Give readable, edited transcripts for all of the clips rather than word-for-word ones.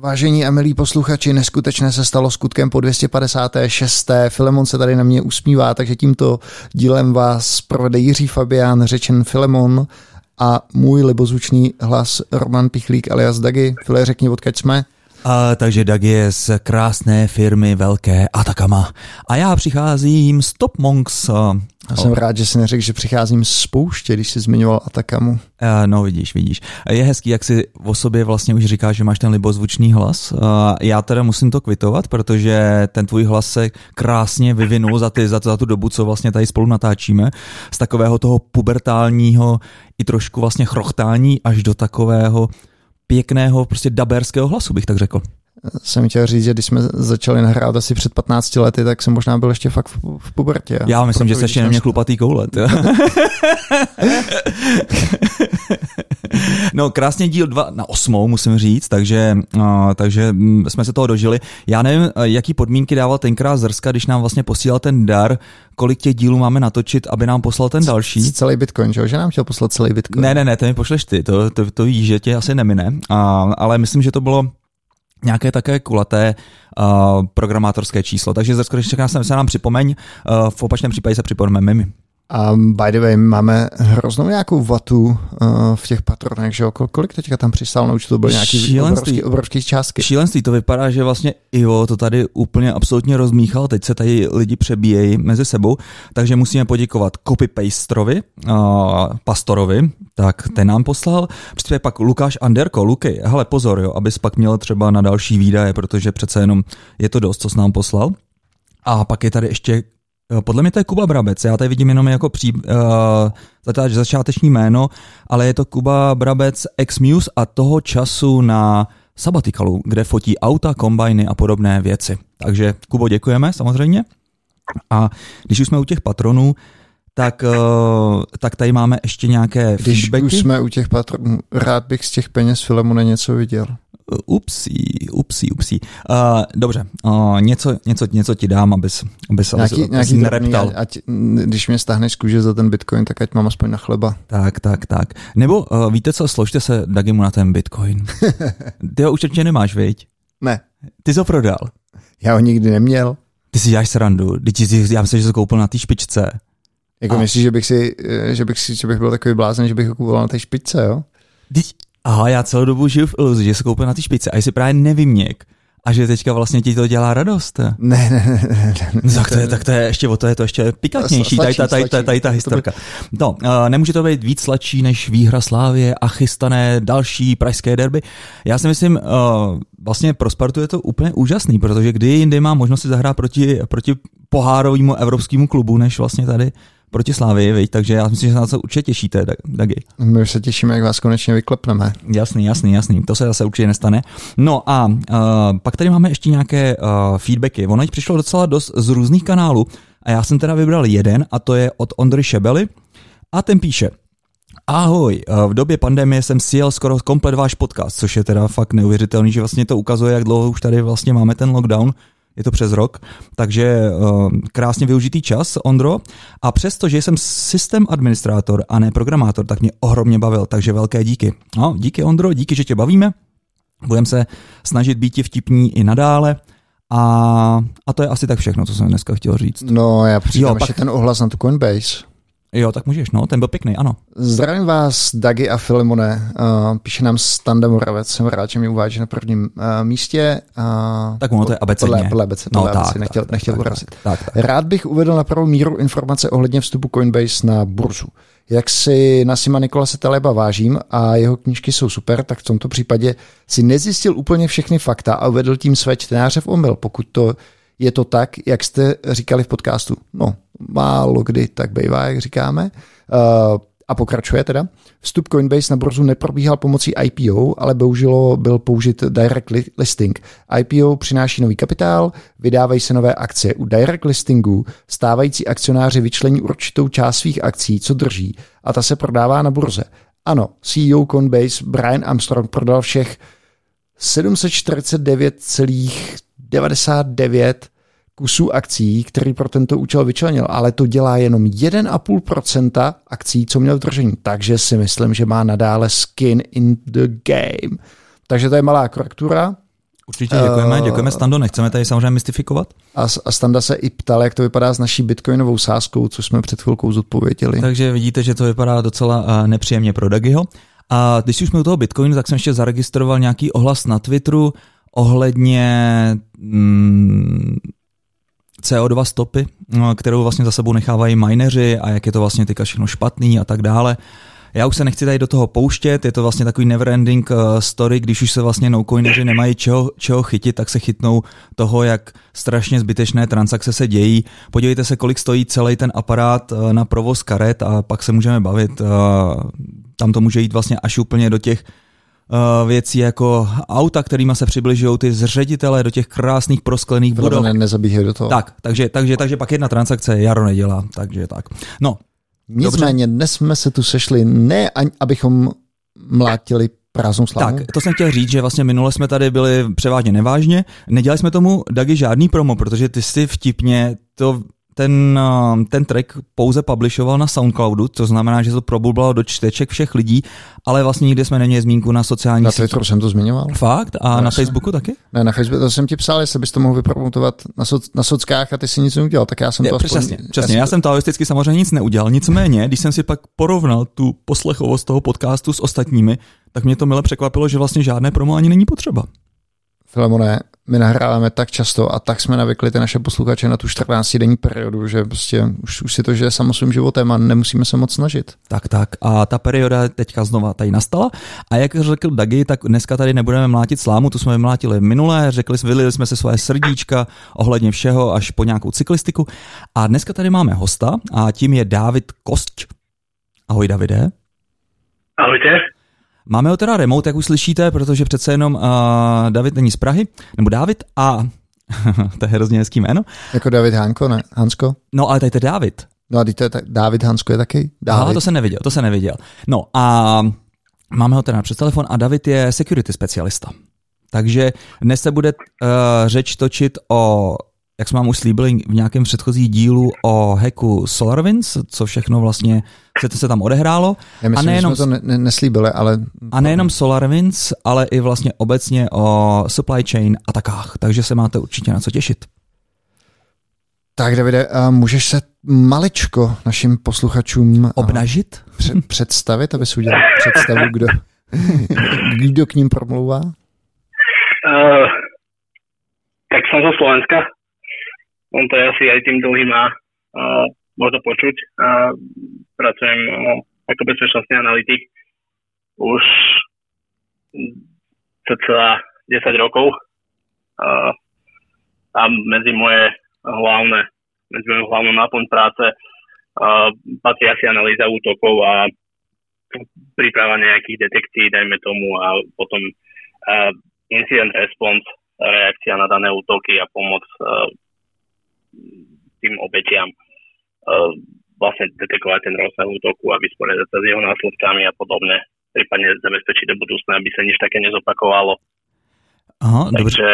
Vážení a milí posluchači, neskutečné se stalo skutkem po 256. Filemon se tady na mě usmívá, takže tímto dílem vás provede Jiří Fabián, řečen Filemon, a můj libozvučný hlas Roman Pichlík alias Dagi. File, řekni, odkud jsme? Takže Dagi je z krásné firmy velké Atacama. A já přicházím z Top Monks. Já jsem rád, že jsi neřekl, že přicházím z pouště, když jsi zmiňoval Atacamu. No vidíš. Je hezký, jak si o sobě vlastně už říkáš, že máš ten libozvučný hlas. Já teda musím to kvitovat, protože ten tvůj hlas se krásně vyvinul za tu dobu, co vlastně tady spolu natáčíme. Z takového toho pubertálního i trošku vlastně chrochtání až do takového pěkného, prostě daberského hlasu, bych tak řekl. Jsem chtěl říct, že když jsme začali nahrát asi před 15 lety, tak jsem možná byl ještě fakt v pubertě. Já myslím, že jsi ještě neměl chlupatý koule. No, krásně díl 2/8, musím říct, takže jsme se toho dožili. Já nevím, jaký podmínky dával tenkrát Zrska, když nám vlastně posílal ten dar, kolik těch dílů máme natočit, aby nám poslal ten další. Celý Bitcoin, že nám chtěl poslat celý Bitcoin. Ne, to mi pošleš ty, to víš, že tě asi nemine, ale myslím, že to bylo nějaké také kulaté programátorské číslo. Takže Zrsko, když se nám připomeň, v opačném případě se připomeneme my. A by the way, máme hroznou nějakou vatu v těch patronech, že jo? Kolik teďka tam přistál na účtu? To byly nějaký obrovský částky. Šílenství, to vypadá, že vlastně Ivo to tady úplně absolutně rozmíchal, teď se tady lidi přebíjejí mezi sebou, takže musíme poděkovat copy-pasterovi, Pastorovi, tak ten nám poslal, příspěvek pak Lukáš Anderko, Luky, hele pozor, jo, abys pak měl třeba na další výdaje, protože přece jenom je to dost, co jsi nám poslal. A pak je tady ještě podle mě to je Kuba Brabec, já tady vidím jenom jako začáteční jméno, ale je to Kuba Brabec ex-Muse a toho času na Sabbaticalu, kde fotí auta, kombajny a podobné věci. Takže Kubo, děkujeme samozřejmě. A když už jsme u těch patronů, tak tady máme ještě nějaké feedbacky. Když už jsme u těch patronů, rád bych z těch peněz Filemone něco viděl. Upsí. Dobře, něco ti dám, abys nereptal. Když mě stáhneš z kůže za ten Bitcoin, tak ať mám aspoň na chleba. Tak. Nebo víte co, složte se Dagimu na ten Bitcoin. Ty ho už určitě nemáš, viď? Ne. Ty jsi ho prodal. Já ho nikdy neměl. Ty si děláš srandu. Já myslím, že jsi ho koupil na té špičce. Jako myslíš, že bych byl takový blázen, že bych ho kupoval na té špičce, jo? Aha, já celou dobu žiju v iluzi, že se koupil na ty špičce a jsi právě nevyměk. A že teďka vlastně ti to dělá radost. Ne. Tak to je ještě o to, je to ještě pikantnější, tady ta historka. No, nemůže to být víc sladší než výhra Slávie a chystané další pražské derby. Já si myslím, vlastně pro Spartu je to úplně úžasný, protože kdy jindy má možnost si zahrát proti pohárovému evropskému klubu, než vlastně tady proti Slávii, viď? Takže já myslím, že se na to určitě těšíte, Dagi. My už se těšíme, jak vás konečně vyklepneme. Jasný, to se zase určitě nestane. No a pak tady máme ještě nějaké feedbacky. Ono jich přišlo docela dost z různých kanálů a já jsem teda vybral jeden a to je od Ondry Šebely a ten píše: Ahoj, v době pandemie jsem sjel skoro komplet váš podcast, což je teda fakt neuvěřitelný, že vlastně to ukazuje, jak dlouho už tady vlastně máme ten lockdown. Je to přes rok, takže krásně využitý čas, Ondro. A přesto, že jsem systém administrátor a ne programátor, tak mě ohromně bavil, takže velké díky. No, díky, Ondro, díky, že tě bavíme. Budeme se snažit být vtipní i nadále. A to je asi tak všechno, co jsem dneska chtěl říct. No, já přidám ještě ten ohlas na tu Coinbase. Jo, tak můžeš, no, ten byl pěkný, ano. Zdravím vás, Dagi a Filemone, píše nám Standa Moravec, jsem rád, že mi uváží na prvním místě. Tak ono to je abecedně. Podle nechtěl urazit. Tak. Rád bych uvedl na pravou míru informace ohledně vstupu Coinbase na burzu. Jak si Nassima Nikolase Taleba vážím a jeho knížky jsou super, tak v tomto případě si nezjistil úplně všechny fakta a uvedl tím své čtenáře v omyl, pokud to je to tak, jak jste říkali v podcastu. No, málo kdy tak bývá, jak říkáme. A pokračuje teda. Vstup Coinbase na burzu neprobíhal pomocí IPO, ale bohužel byl použit direct listing. IPO přináší nový kapitál, vydávají se nové akcie. U direct listingu stávající akcionáři vyčlení určitou část svých akcí, co drží, a ta se prodává na burze. Ano, CEO Coinbase Brian Armstrong prodal všech 749,99 kusů akcí, který pro tento účel vyčlenil, ale to dělá jenom 1,5% akcí, co měl v držení. Takže si myslím, že má nadále skin in the game. Takže to je malá korektura. Určitě děkujeme Stando, nechceme tady samozřejmě mystifikovat. A Standa se i ptal, jak to vypadá s naší bitcoinovou sázkou, což jsme před chvilkou zodpověděli. Takže vidíte, že to vypadá docela nepříjemně pro Dagiho. A když už jsme u toho bitcoinu, tak jsem ještě zaregistroval nějaký ohlas na Twitteru ohledně CO2 stopy, kterou vlastně za sebou nechávají mineři a jak je to vlastně teďka všechno špatný a tak dále. Já už se nechci tady do toho pouštět, je to vlastně takový neverending story, když už se vlastně nocoineři nemají čeho chytit, tak se chytnou toho, jak strašně zbytečné transakce se dějí. Podívejte se, kolik stojí celý ten aparát na provoz karet a pak se můžeme bavit. Tam to může jít vlastně až úplně do těch věcí jako auta, kterýma se přibližují ty zředitele do těch krásných prosklených budov. Nezabíhají do toho. Tak, takže pak jedna transakce Jaro nedělá, takže tak. No. Nicméně dnes jsme se tu sešli ne abychom mlátili prázdnou slavu. Tak, to jsem chtěl říct, že vlastně minule jsme tady byli převážně nevážně. Nedělali jsme tomu, Dagi, žádný promo, protože ty si vtipně ten track pouze publishoval na Soundcloudu, to znamená, že to probulbalo do čteček všech lidí, ale vlastně nikdy jsme neměli zmínku na sociálních sítích. Na Twitteru jsem to zmiňoval. Fakt? A na Facebooku taky? Ne, na Facebooku to jsem ti psal, jestli bys to mohl vypromotovat na sockách a ty si nic neudělal, tak já jsem to Přesně. Já jsem taoisticky samozřejmě nic neudělal, nicméně, když jsem si pak porovnal tu poslechovost toho podcastu s ostatními, tak mě to mile překvapilo, že vlastně žádné promo ani není potřeba. Filemone, my nahráváme tak často a tak jsme navykli ty naše posluchače na tu 14denní periodu, že prostě už si to žije samo svým životem a nemusíme se moc snažit. Tak. A ta perioda teďka znova tady nastala. A jak řekl Dagi, tak dneska tady nebudeme mlátit slámu, tu jsme mlátili minulé, vylili jsme se svoje srdíčka ohledně všeho až po nějakou cyklistiku. A dneska tady máme hosta a tím je Dávid Kosť. Ahoj, Davide. Ahojte. Máme ho teda remote, jak už slyšíte, protože přece jenom David není z Prahy, nebo Dávid a to je hrozně hezký jméno. Jako David Hanko, ne? Hansko? No, ale tady to je David. No a David Hansko je taky David. Aha, to jsem neviděl. No a máme ho teda přes telefon a David je security specialista. Takže dnes se bude řeč točit o, jak jsme vám už slíbili v nějakém předchozí dílu, o hacku SolarWinds, co všechno vlastně se tam odehrálo. Já myslím, že jsme to neslíbili, ale... A nejenom SolarWinds, ale i vlastně obecně o supply chain atakách, takže se máte určitě na co těšit. Tak, Davide, můžeš se maličko našim posluchačům obnažit? Představit, aby si udělal představu, kdo k ním promlouvá? Tak som zo Slovenska. On to je asi aj tým dlhým a možno počuť. Pracujem ako bezpečnostný analytik už cca 10 rokov. A medzi moju hlavnú náplň práce patrí asi analýza útokov a príprava nejakých detekcií, dajme tomu, a potom incident response, reakcia na dané útoky a pomoc tým obetiam vlastne detekovať ten rozsah útoku a vysporiadať sa s jeho následkami a podobne, prípadne zabezpečiť do budúcna, aby sa nič také nezopakovalo. Aha, takže...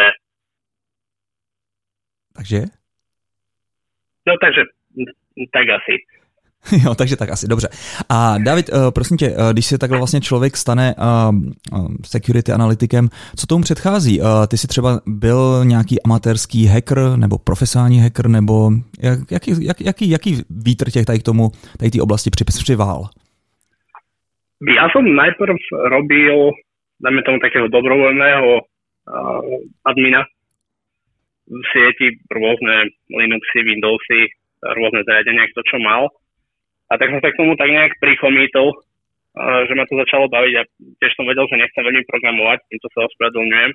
No takže, tak asi. Jo, takže tak asi, dobře. A David, prosím tě, když se takhle vlastně člověk stane security analytikem, co tomu předchází? Ty jsi třeba byl nějaký amatérský hacker nebo profesionální hacker, nebo jaký vítr těch tady k tomu, tady té oblasti přivál? Ja som najprv robil, dáme tomu takého dobrovoľného admina v sieti, rôzne Linuxy, Windowsy, rôzne zariadenia, kto čo mal. A tak som sa k tomu tak nejak prichomítol, že ma to začalo baviť a tiež som vedel, že nechcem veľmi programovať, týmto sa ospravedlňujem.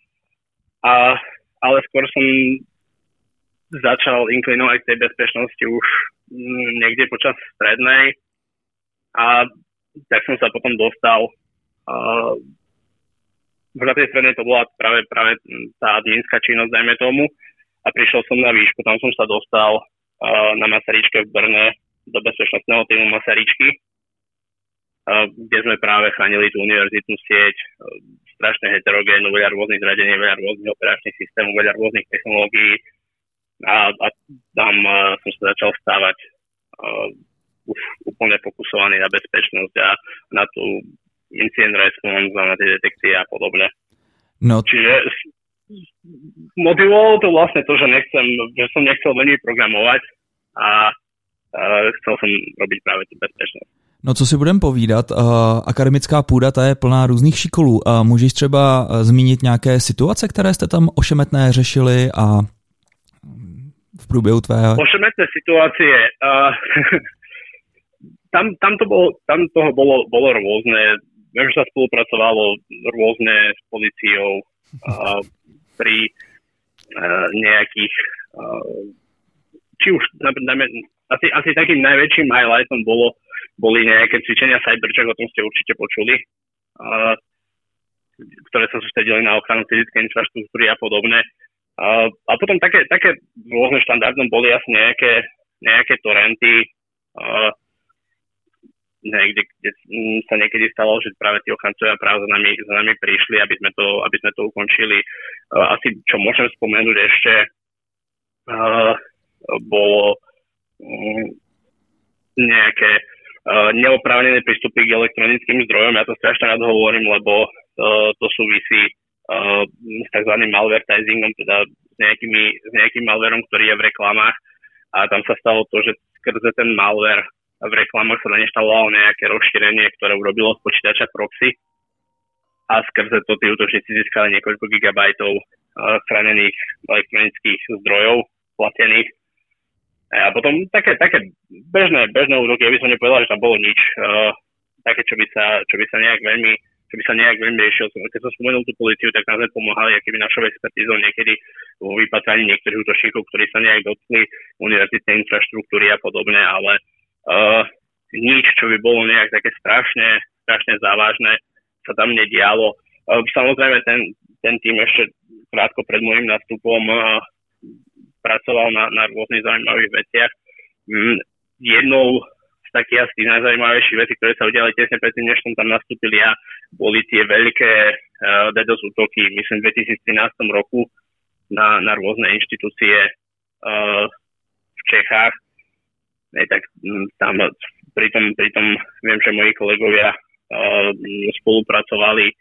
Ale skôr som začal inklinovať k tej bezpečnosti už niekde počas strednej a tak som sa potom dostal. Už na tej strednej to bola práve tá adminská činnosť, dajme tomu, a prišiel som na výšku, tam som sa dostal na Masaryčke v Brne do bezpečnostného týmu Masaryčky, kde sme práve chránili tú univerzitnú sieť, strašne heterogénnu, veľa rôznych zariadení, veľa rôznych operačných systémov, veľa rôznych technológií a tam som sa začal stávať už úplne fokusovaný na bezpečnosť a na tú incident response a na tie detekcie a podobne. No. Čiže motivovalo to vlastne to, že som nechcel veľmi programovať a chcel som robiť práve tú bezpečnosť. No co si budeme povídat, akademická půda ta je plná různých šikolů. Můžeš třeba zmínit nějaké situace, které jste tam ošemetné řešili a v průběhu tvého... Ošemetné situácie, tam toho bolo rôzne. Viem, že sa spolupracovalo rôzne s políciou pri nejakých či už asi takým najväčším highlightom boli nejaké cvičenia Cybercheck, o tom ste určite počuli, ktoré sa sústredili na ochranu fyzickej infraštruktúry a podobne. A potom také rôzne štandardom boli asi nejaké torrenty, kde sa niekedy stalo, že práve tí ochrancovia práve za nami prišli, aby sme to ukončili. Asi, čo môžem spomenúť ešte, bolo nejaké neoprávnené prístupy k elektronickým zdrojom. Ja to strašne rád hovorím, lebo to súvisí s tzv. Malvertisingom, teda s nejakým malverom, ktorý je v reklamách. A tam sa stalo to, že skrze ten malver v reklamách sa nainštalovalo nejaké rozšírenie, ktoré urobilo z počítača proxy. A skrze to tí útočníci získali niekoľko gigabajtov chránených elektronických zdrojov platených. A potom také bežné útoky, ja by som nepovedal, že tam bolo nič také, čo by sa nejak veľmi riešil. Keď som spomenul tú políciu, tak nám sme pomáhali akýby našou expertízou niekedy vo vypátraní niektorých útočníkov, ktorí sa nejak dotkli univerzitnej infraštruktúry a podobne, ale nič, čo by bolo nejak také strašne závažné, sa tam nedialo. Samozrejme ten tým ešte krátko pred môjim nástupom pracoval na rôznych zaujímavých veciach. Jednou z takých asi najzaujímavejších vecí, ktoré sa udiali tesne predtým, než som tam nastúpil ja, boli tie veľké DDoS útoky, myslím v 2013 roku na rôzne inštitúcie v Čechách. Tak tam pritom viem, že moji kolegovia spolupracovali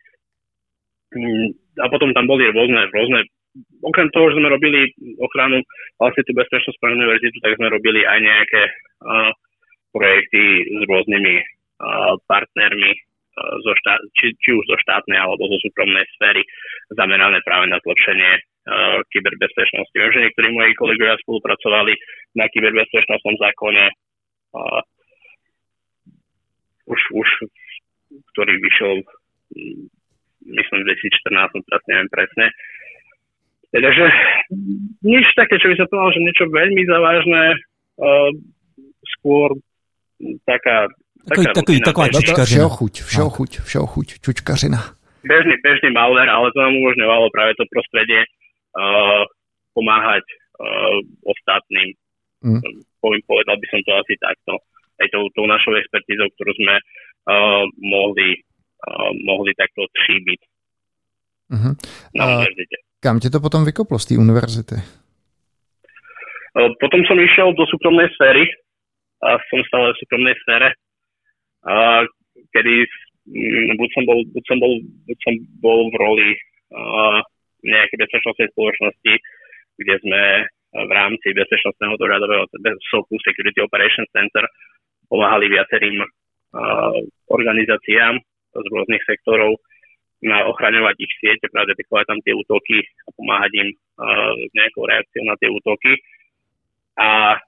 a potom tam boli rôzne okrem toho, že sme robili ochranu vlastne tú bezpečnosť pre univerzitu, tak sme robili aj nejaké projekty s rôznymi partnermi či už zo štátnej alebo zo súkromnej sféry zamerané práve na zlepšenie kyberbezpečnosti. Viem, že niektorí moji kolegovia spolupracovali na kyberbezpečnostnom zákone už ktorý vyšiel myslím v 2014, teraz neviem presne. Takže nič také, čo by sa povedal, že niečo veľmi závažné, skôr taká čučkařina. Všeho chuť, čučkařina. Bežný malware, ale to nám umožňovalo práve to prostredie pomáhať ostatným. Povedal by som to asi takto. Aj tou našou expertízou, ktorú sme mohli takto tříbiť na univerzite. Kam tě to potom vykoplo z té univerzity? Potom som išiel do súkromnej sféry a som stále v súkromnej sfére, kedy buď som bol v roli nejakej bezpečnostnej spoločnosti, kde sme v rámci bezpečnostného dohľadového SOC, Security Operations Center, pomáhali viacerým organizáciám z rôznych sektorov na ochraňovať ich siete, práve detekovať tam tie útoky a pomáhať im s nejakou reakciou na tie útoky. A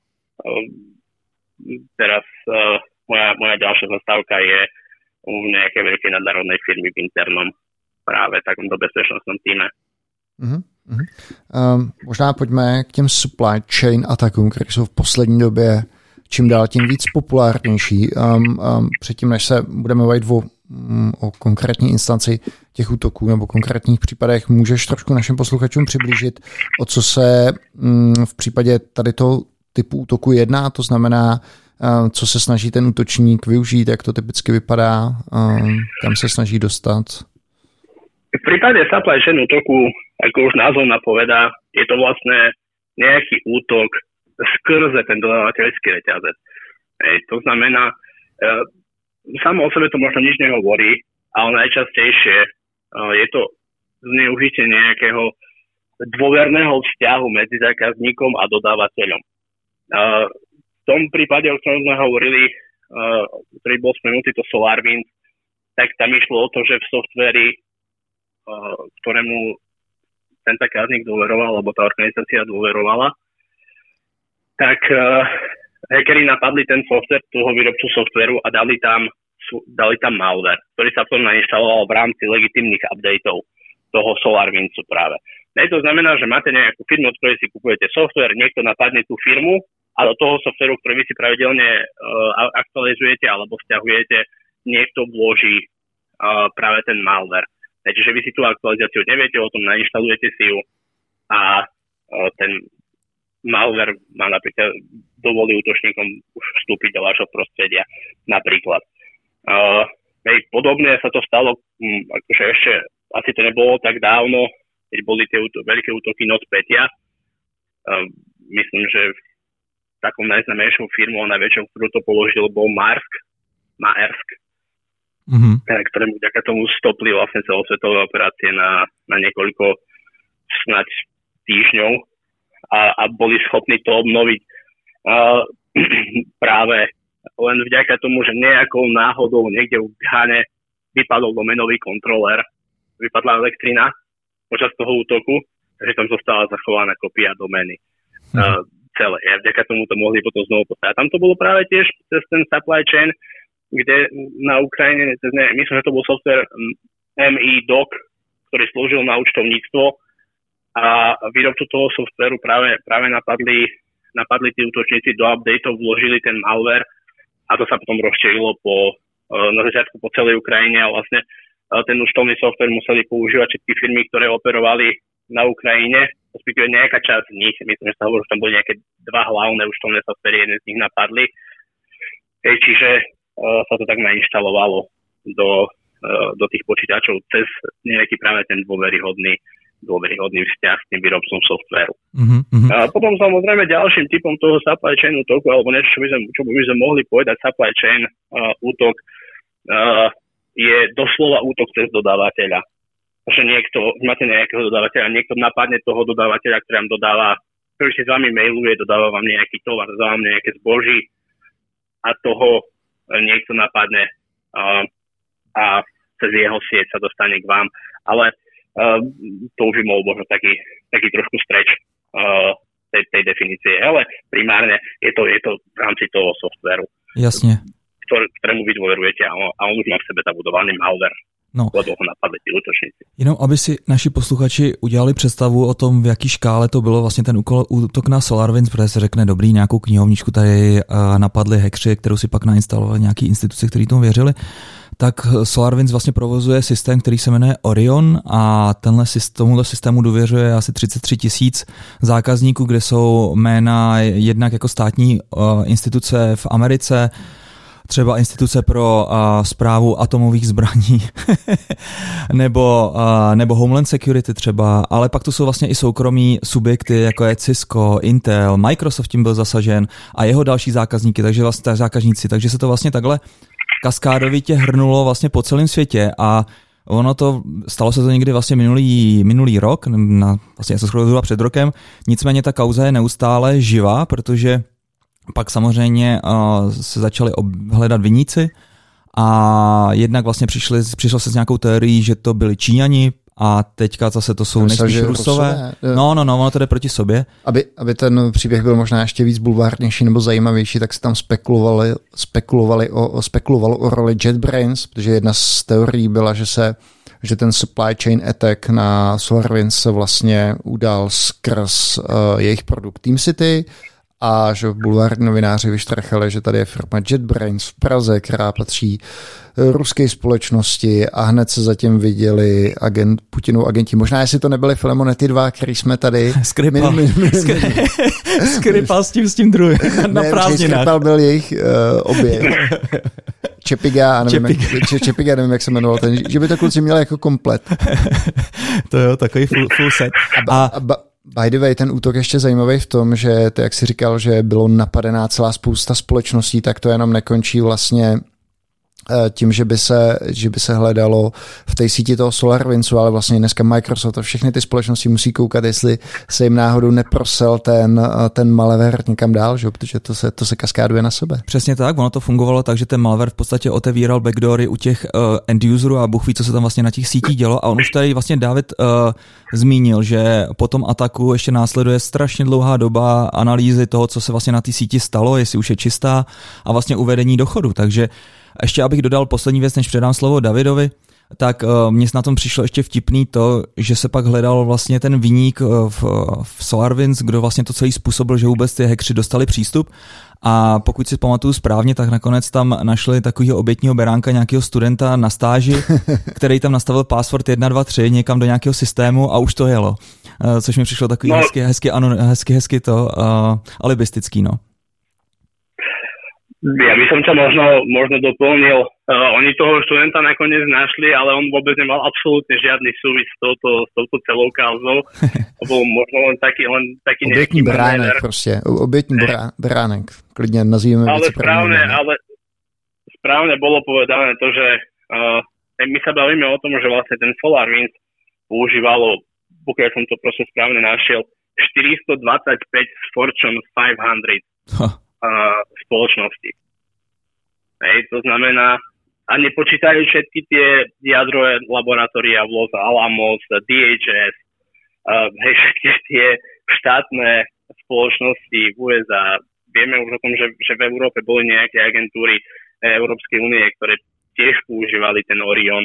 teraz moja ďalšia zastávka je v nejakej veľkej nadnárodnej firmy v internom práve takomto bezpečnostnom týme. Možná pojďme k těm supply chain atakům, které jsou v poslední době čím dál tím víc populárnější. Předtím, než se budeme bavit o konkrétní instanci těch útoků nebo konkrétních případech, můžeš trošku našim posluchačům přiblížit, o co se v případě tady toho typu útoku jedná, to znamená, co se snaží ten útočník využít, jak to typicky vypadá, kam se snaží dostat? V prípade supply chain útoku, ako už názov napovedá, je to vlastne nejaký útok skrze ten dodávateľský reťazec. To znamená, samo o sebe to možno nič nehovorí, ale najčastejšie je to zneužitie nejakého dôverného vzťahu medzi zákazníkom a dodávateľom. V tom prípade, o ktorom sme hovorili, ktorý bol spomenutý, to SolarWinds, tak tam išlo o to, že v softveri, ktorému ten zákazník dôveroval, alebo tá organizácia dôverovala, tak hackeri napadli ten software, toho výrobcu softveru a dali tam malware, ktorý sa potom nainštaloval v rámci legitímnych updateov toho SolarWindsu práve. To znamená, že máte nejakú firmu, od ktorej si kupujete software, niekto napadne tú firmu a do toho softveru, ktorý vy si pravidelne aktualizujete alebo stiahujete, niekto vloží práve ten malware. Čiže vy si tú aktualizáciu neviete, o tom nainštalujete si ju a ten malware má napríklad dovolí útočníkom už vstúpiť do vášho prostredia napríklad. Podobne sa to stalo, akože ešte asi to nebolo tak dávno, keď boli tie veľké útoky NotPetya. Myslím, že takou najznámejšou firmou a najväčšou, ktorú to položil, bol Maersk, ktorému vďaka tomu stopli vlastne celosvetové operácie na niekoľko snáď týždňov a boli schopní to obnoviť práve len vďaka tomu, že nejakou náhodou niekde v Ghane vypadol domenový kontroler, vypadla elektrina počas toho útoku, takže tam zostala zachovaná kopia domény celé. A vďaka tomu to mohli potom znovu postaviť. Tam to bolo práve tiež cez ten supply chain, kde na Ukrajine, myslím, že to bol software MI-Doc, ktorý slúžil na účtovníctvo a výrobcu toho softveru práve napadli tí útočníci do updateov, vložili ten malware a to sa potom rozšírilo na začiatku po celej Ukrajine a vlastne ten účtovný software museli používať všetky firmy, ktoré operovali na Ukrajine, respektíve nejaká časť z nich, myslím, že sa hovorí, že tam boli nejaké dva hlavné účtovné softvery, jeden z nich napadli. Čiže sa to tak nainštalovalo do tých počítačov cez nejaký práve ten dôveryhodný vzťah s tým výrobcom softvéru. A potom samozrejme ďalším typom toho supply chain útoku, alebo niečo, čo by sme mohli povedať supply chain útok, je doslova útok cez dodávateľa. Že máte nejakého dodávateľa, niekto napadne toho dodávateľa, ktorý si s vami mailuje, dodáva vám nejaký tovar, dodáva vám nejaké zboží a toho niekto napadne a cez jeho sieť sa dostane k vám. Ale to už by bol možno taký trošku stretch tej definície. Ale primárne je to v rámci toho softvéru. Jasne. Ktorému vy dôverujete a on už má v sebe zabudovaný malware. No. Lebo ho napadli tí útočníci. Jenom aby si naši posluchači udělali představu o tom, v jaký škále to bylo vlastně ten útok na SolarWinds, protože se řekne dobrý, nějakou knihovničku tady napadli hackři, kterou si pak nainstalovali nějaký instituce, kteří tomu věřili. Tak SolarWinds vlastně provozuje systém, který se jmenuje Orion a tomuto systému důvěřuje asi 33 000 zákazníků, kde jsou jména jednak jako státní instituce v Americe, třeba instituce pro správu atomových zbraní nebo Homeland Security třeba, ale pak to jsou vlastně i soukromí subjekty, jako je Cisco, Intel, Microsoft tím byl zasažen a jeho další zákazníky, takže se to vlastně takhle kaskádovitě hrnulo vlastně po celém světě a stalo se to někdy vlastně minulý rok, vlastně se skoro před rokem, nicméně ta kauza je neustále živá, protože pak samozřejmě se začali hledat viníci a jednak vlastně přišlo se s nějakou teorií, že to byli Číňani a teďka zase to jsou nejspíš Rusové. No, ono to jde proti sobě. Aby ten příběh byl možná ještě víc bulvárnější nebo zajímavější, tak se tam spekulovalo o roli JetBrains, protože jedna z teorií byla, že ten supply chain attack na SolarWinds se vlastně udál skrz jejich produkt TeamCity, a že bulvární novináři vyštrachali, že tady je firma JetBrains v Praze, která patří ruské společnosti a hned se zatím viděli Putinov agenti. Možná, jestli to nebyly Filemone ty dva, který jsme tady... Skripal s tím druhým na prázdninách. Skripal byl jejich obě. Čepiga, nevím, jak se jmenoval ten, že by to kluci měli jako komplet. To jo, takový full set. By the way, ten útok ještě zajímavý v tom, že to, jak jsi říkal, že bylo napadená celá spousta společností, tak to jenom nekončí vlastně tím, že by se hledalo v té síti toho SolarWindsu, ale vlastně dneska Microsoft a všechny ty společnosti musí koukat, jestli se jim náhodou neprosel ten malware někam dál, že? Protože to se kaskáduje na sebe. Přesně tak, ono to fungovalo tak, že ten malware v podstatě otevíral backdoory u těch end-userů a Bůh ví, co se tam vlastně na těch sítích dělo. A on už tady vlastně David zmínil, že po tom ataku ještě následuje strašně dlouhá doba analýzy toho, co se vlastně na té síti stalo, jestli už je čistá a vlastně uvedení do chodu. Takže ještě abych dodal poslední věc, než předám slovo Davidovi, tak mně na tom přišlo ještě vtipný to, že se pak hledal vlastně ten viník v SolarWinds, kdo vlastně to celý způsobil, že vůbec ty hackři dostali přístup. A pokud si pamatuju správně, tak nakonec tam našli takového obětního beránka, nějakého studenta na stáži, který tam nastavil password 123 někam do nějakého systému a už to jelo. Což mi přišlo takový hezky to alibistický, no. Ja by som ťa možno doplnil. Oni toho študenta nakoniec našli, ale on vôbec nemal absolútne žiadny súvis s touto celou kauzou. To bol možno len taký obětní beránek prostě. Obětní beránek. Klidně nazývame ale správne bolo povedané to, že my sa bavíme o tom, že vlastne ten SolarWinds používalo, pokiaľ som to proste správne našiel, 425 z Fortune 500 spoločnosti. Hej, to znamená, a nepočítajú všetky tie jadrové laboratória v Los Alamos, DHS, hej, všetky tie štátne spoločnosti v USA. Vieme už o tom, že v Európe boli nejaké agentúry Európskej únie, ktoré tiež používali ten Orion.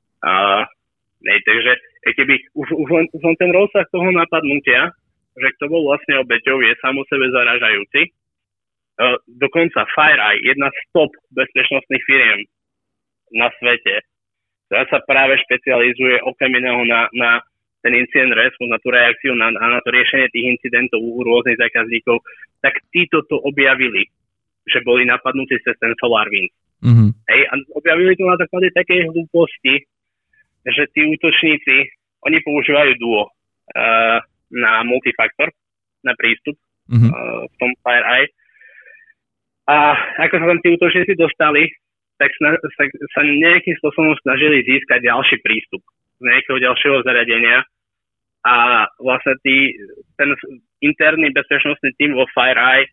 Takže keby už len ten rozsah toho napadnutia, že kto bol vlastne obeťou, je sám o sebe zaražajúci. Dokonca FireEye, jedna z top bezpečnostných firiem na svete, ktorá sa práve špecializuje okrem iného na ten incident response, na tú reakciu, na to riešenie tých incidentov u rôznych zákazníkov, tak títo to objavili, že boli napadnutí cez ten SolarWinds. Mm-hmm. Hej, a objavili to na základe takej hlúposti, že tí útočníci, oni používajú Duo na multifaktor, na prístup v tom FireEye. A ako sa tam tí útočníci dostali, tak sa nejakým spôsobom snažili získať ďalší prístup z nejakého ďalšieho zariadenia a vlastne ten interný bezpečnostný tím vo FireEye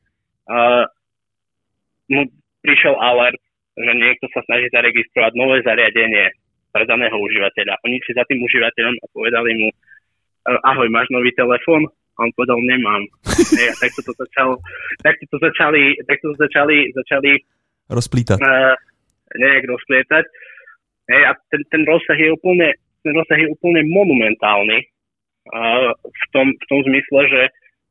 mu prišiel alert, že niekto sa snaží zaregistrovať nové zariadenie pre daného užívateľa. Oni si za tým užívateľom a povedali mu: ahoj, máš nový telefón? A on povedal: nemám. A takto to začali rozplítať. Nejak rozplietať. A ten rozsah je úplne monumentálny v tom zmysle, že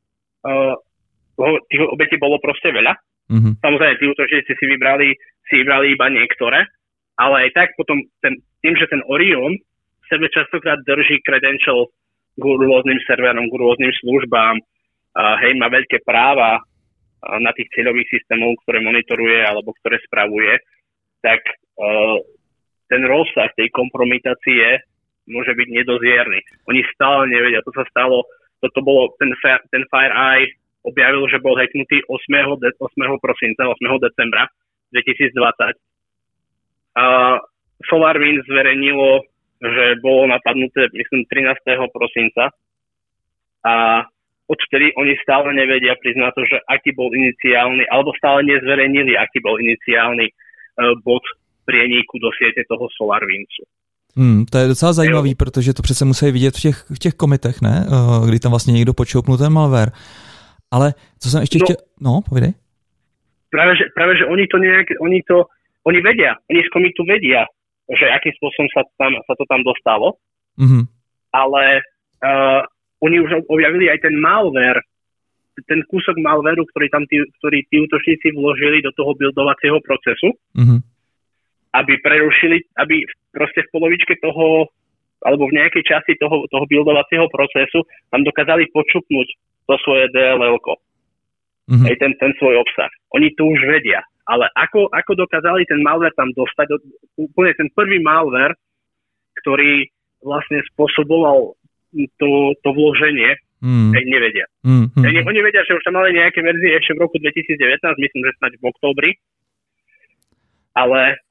tých obetí bolo proste veľa. Mm-hmm. Samozrejme, tí útočníci si vybrali iba niektoré, ale aj tak potom tým, že ten Orion v sebe častokrát drží credential k rôznym serverom, k rôznym službám, má veľké práva na tých cieľových systémov, ktoré monitoruje alebo ktoré spravuje, tak ten rozsah tej kompromitácie môže byť nedozierny. Oni stále nevedia, to sa stalo, toto bolo, ten FireEye objavil, že bol hacknutý 8. decembra 2020. SolarWinds zverejnilo, že bolo napadnuté, myslím, 13. prosinca a odtedy oni stále nevedia priznať to, že aký bol iniciálny, alebo stále nezverejnili, aký bol iniciálny bod prieníku do siete toho SolarWindsu. To je docela zajímavý, protože to přece musí vidět v těch komitech, ne? Kdy tam vlastně někdo počoupnul ten malware. Ale co jsem ještě chtěl... No, povídej. Práve, že oni vedia, oni z komitu vedia, že akým spôsobom sa to tam dostalo, ale oni už objavili aj ten malware, ten kúsok malwareu, ktorý tí útočníci vložili do toho buildovacieho procesu, aby prerušili, aby proste v polovičke toho, alebo v nejakej časti toho buildovacieho procesu tam dokázali počupnúť to svoje DLL-ko. Ten svoj obsah. Oni to už vedia. Ale ako dokázali ten malware tam dostať, úplne ten prvý malware, ktorý vlastne spôsoboval to vloženie, nevedia. Oni vedia, že už tam mali nejaké verzie ešte v roku 2019, myslím, že snáď v októbri, ale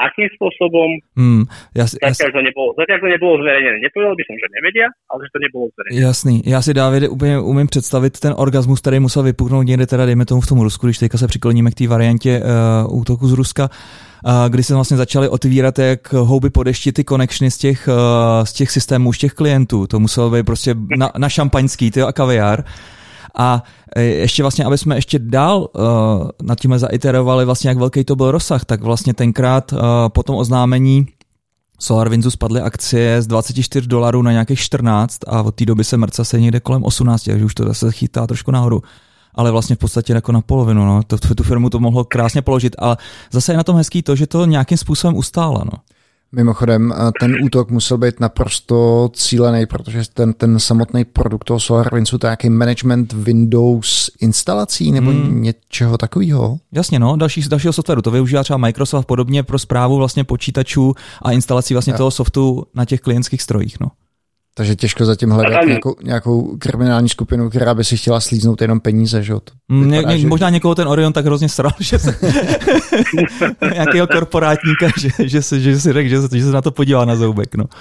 akým spôsobom. Zatiaľ to nebolo zverejnené. Nepovedal by som, že nevedia, ale že to nebylo zverejnené. Jasný. Já si, Davide, úplně umím představit ten orgasmus, který musel vypuknout někde teda, dejme tomu v tom Rusku, když teďka se přikloníme k té variantě útoku z Ruska, kdy se vlastně začaly otvírat jak houby po dešti ty connectiony z těch systémů, z těch klientů. To muselo být prostě na šampaňský, a kaviár. A ještě vlastně, aby jsme ještě dál nad tím zaiterovali vlastně, jak velký to byl rozsah, tak vlastně tenkrát po tom oznámení SolarWindsu spadly akcie z $24 na nějakých 14 a od té doby se mrca se někde kolem 18, takže už to zase chytá trošku nahoru. Ale vlastně v podstatě jako na polovinu, no. Tu firmu to mohlo krásně položit, ale zase je na tom hezký to, že to nějakým způsobem ustála, no. Mimochodem, ten útok musel být naprosto cílený, protože ten samotný produkt toho SolarWindsu, to je nějaký management Windows instalací nebo něčeho takového? Jasně, no, dalšího softwaru. To využívá třeba Microsoft podobně pro správu vlastně počítačů a instalací vlastně toho softu na těch klientských strojích, no. Takže těžko zatím hledat nějakou kriminální skupinu, která by si chtěla slíznout jenom peníze, že jo? Možná někoho ten Orion tak hrozně sral, že se nějakého korporátníka, že si řekl, že se na to podívá na zoubek, no.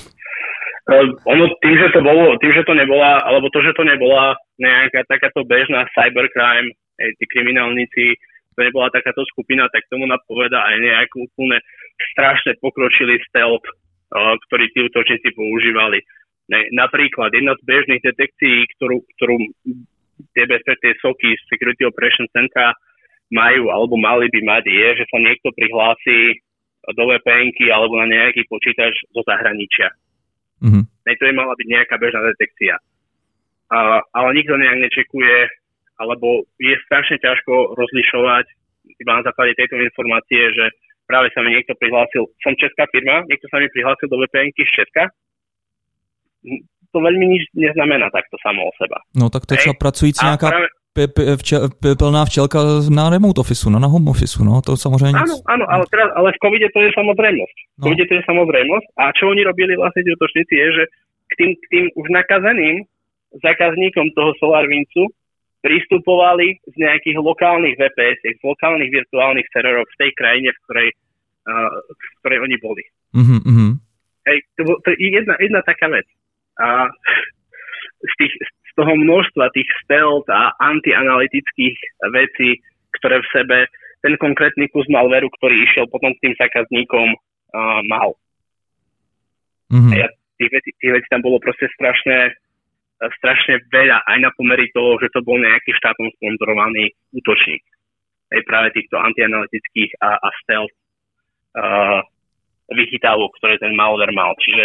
Ono tým, že to nebola nejaká takáto bežná cybercrime, tí kriminálnici, to nebola takáto skupina, tak tomu napovedá aj nejakú úplne strašne pokročilý stealth, ktorý tí útočníci používali. Napríklad jedna z bežných detekcií, ktorú tie SOCy, Security Operations Centra, majú alebo mali by mať, je, že sa niekto prihlási do VPN-ky alebo na nejaký počítač zo zahraničia. Mm-hmm. To by mala byť nejaká bežná detekcia. Ale nikto nejak nečekuje, alebo je strašne ťažko rozlišovať iba na základe tejto informácie, že práve sa mi niekto prihlásil, som česká firma, niekto sa mi prihlásil do VPN-ky z Česka. To veľmi nič neznamená takto samo o seba. No tak to je třeba pracující nějaká plná včelka na remote officeu, na home officeu, no to samozřejmě. Áno, ale v covide to je samozrejmosť. V covide to je samozrejmosť a čo oni robili vlastne tí útočníci je, že k tým už nakazeným zákazníkom toho SolarWindsu pristupovali z nejakých lokálnych VPS, z lokálnych virtuálnych serverov v tej krajine, v ktorej oni boli. Mm-hmm. Hej, to je jedna taká vec. A z toho množstva tých stealth a antianalytických vecí, ktoré v sebe ten konkrétny kus malveru, ktorý išiel potom k tým zákazníkom, mal. Mm-hmm. A tých vecí tam bolo proste strašne veľa, aj na pomery toho, že to bol nejaký štátom sponzorovaný útočník. Aj práve týchto antianalytických a stealth vychytávok, ktoré ten malware mal. Čiže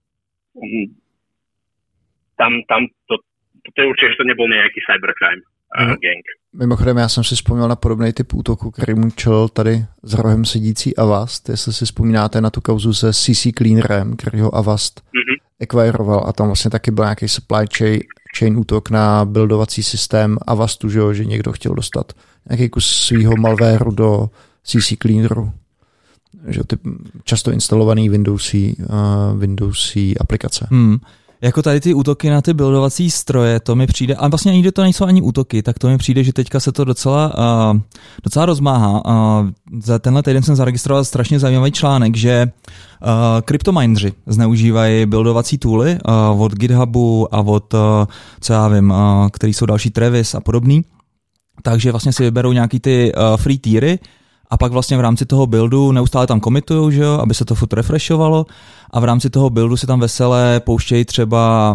tam to je určitě, že to nebyl nějaký cybercrime gang. Mimochodem, já jsem si vzpomněl na podobný typ útoku, který mu čelil tady za rohem sedící Avast. Jestli si vzpomínáte na tu kauzu se CC Cleanerem, který ho Avast acquiroval a tam vlastně taky byl nějaký supply chain útok na buildovací systém Avastu, že někdo chtěl dostat nějaký kus svýho malwareu do CC Cleaneru. Že ty často instalovaný Windowsí aplikace. Jako tady ty útoky na ty buildovací stroje, to mi přijde, a vlastně nikdy to nejsou ani útoky, tak to mi přijde, že teďka se to docela rozmáhá. Za tenhle týden jsem zaregistroval strašně zajímavý článek, že kryptomineři zneužívají buildovací tooly od GitHubu a od, co já vím, který jsou další Travis a podobný. Takže vlastně si vyberou nějaký ty free tiery a pak vlastně v rámci toho buildu neustále tam komitujou, že jo, aby se to furt refreshovalo a v rámci toho buildu si tam veselé pouštějí třeba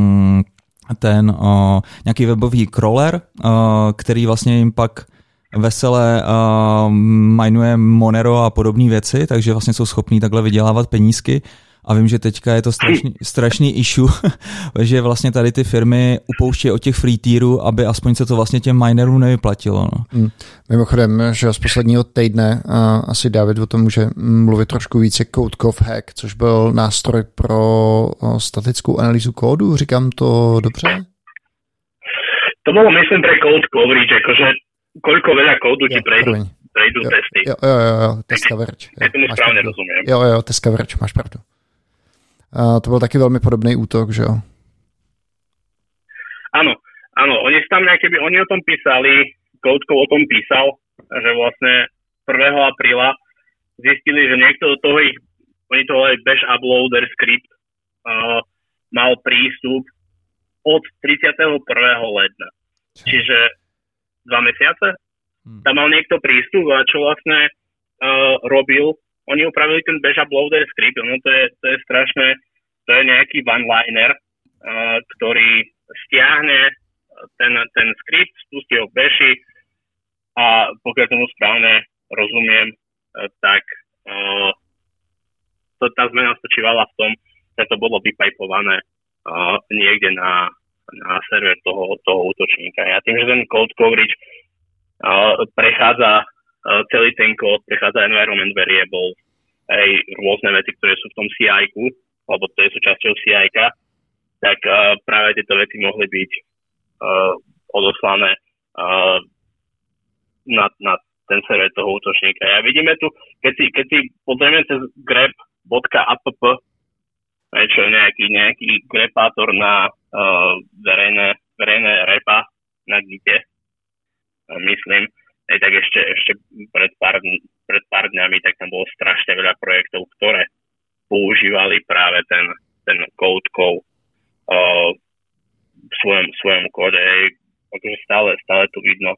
nějaký webový crawler, který vlastně jim pak veselé minuje Monero a podobné věci, takže vlastně jsou schopní takhle vydělávat penízky. A vím, že teďka je to strašný issue, že vlastně tady ty firmy upouštějí od těch free tierů, aby aspoň se to vlastně těm minerům nevyplatilo. No. Mimochodem, že z posledního týdne asi David o tom může mluvit trošku více, CodeCov Hack, což byl nástroj pro statickou analýzu kódu, říkám to dobře? To bylo, myslím, pre code coverage, jakože koľko veľa kódu ti prejdú testy. Jo, test coverage. Ja tomu správne rozumiem. Jo, test coverage, máš pravdu. To byl taky velmi podobný útok, že jo? Áno, oni o tom písali, CodeCov o tom písal, že vlastne 1. apríla zistili, že niekto do toho oni to volajú Bash Uploader Script, mal prístup od 31. ledna. Čiže 2 mesiace. Tam mal niekto prístup a čo vlastne robil, oni upravili ten Bash Uploader Script, no to je strašné, to je nejaký one-liner, ktorý stiahne ten skript, spustí ho v Bashi a pokiaľ tomu správne rozumiem, tak tá zmena spočívala v tom, že to bolo vypajpované niekde na server toho útočníka. A tým, že ten code coverage prechádza celý ten kód, prechádza environment variables, aj rôzne veci, ktoré sú v tom CI-ku, alebo to je súčasťou CI-ka, tak práve tieto veci mohli byť odoslané na ten server toho útočníka. A vidíme tu, keď si pozrieme cez grep.app, čo je nejaký grepátor na verejné repa na Gite, myslím, tak ešte pred pár dňami, tak tam bolo strašne veľa projektov, ktoré používali práve ten code v svojom kóde. Akože stále tu vidno.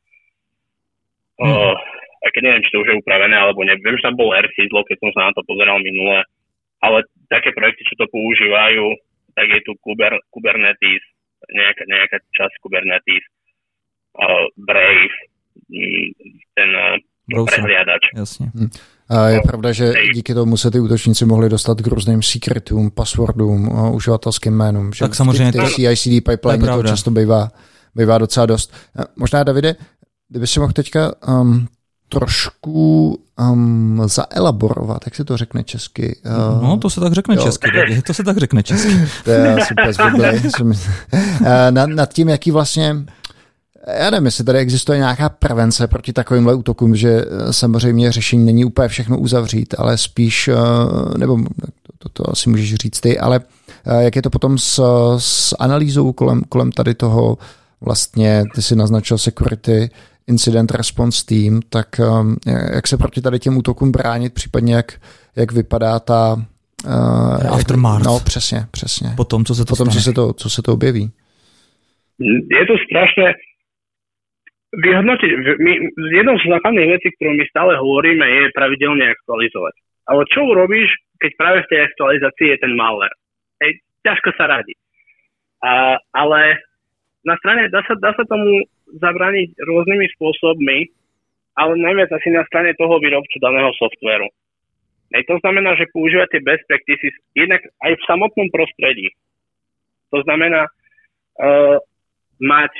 A keď neviem, či to už je upravené, alebo neviem, že tam bol R-Sizzle, keď som sa na to pozeral minule, ale také projekty, čo to používajú, tak je tu Kubernetes, nejaká časť Kubernetes, Brave, ten prehliadač. Jasně. A je pravda, že díky tomu se ty útočníci mohli dostat k různým secretům, passwordům, uživatelským jménům. Tak samozřejmě. Ty CI/CD pipeline to často bývá docela dost. Možná, Davide, kdyby si mohl teďka trošku zaelaborovat, jak se to řekne česky? No, to se tak řekne česky. To se tak řekne česky. To je super zvyklý. Nad tím, jaký vlastně... Já nevím, jestli tady existuje nějaká prevence proti takovýmhle útokům, že samozřejmě řešení není úplně všechno uzavřít, ale spíš, nebo to asi můžeš říct ty, ale jak je to potom s analýzou kolem tady toho, vlastně ty si naznačil Security Incident Response Team, tak jak se proti tady těm útokům bránit, případně jak vypadá ta... aftermath. No, přesně. Potom, co se to objeví. Je to strašné vyhodnotiť. Jednou z základných vecí, ktorú my stále hovoríme, je pravidelne aktualizovať. Ale čo urobíš, keď práve v tej aktualizácii je ten malware? Ťažko sa radí. Ale na strane dá sa tomu zabrániť rôznymi spôsobmi, ale najviac asi na strane toho výrobcu daného softvéru. To znamená, že používate best practices jednak aj v samotnom prostredí. To znamená mať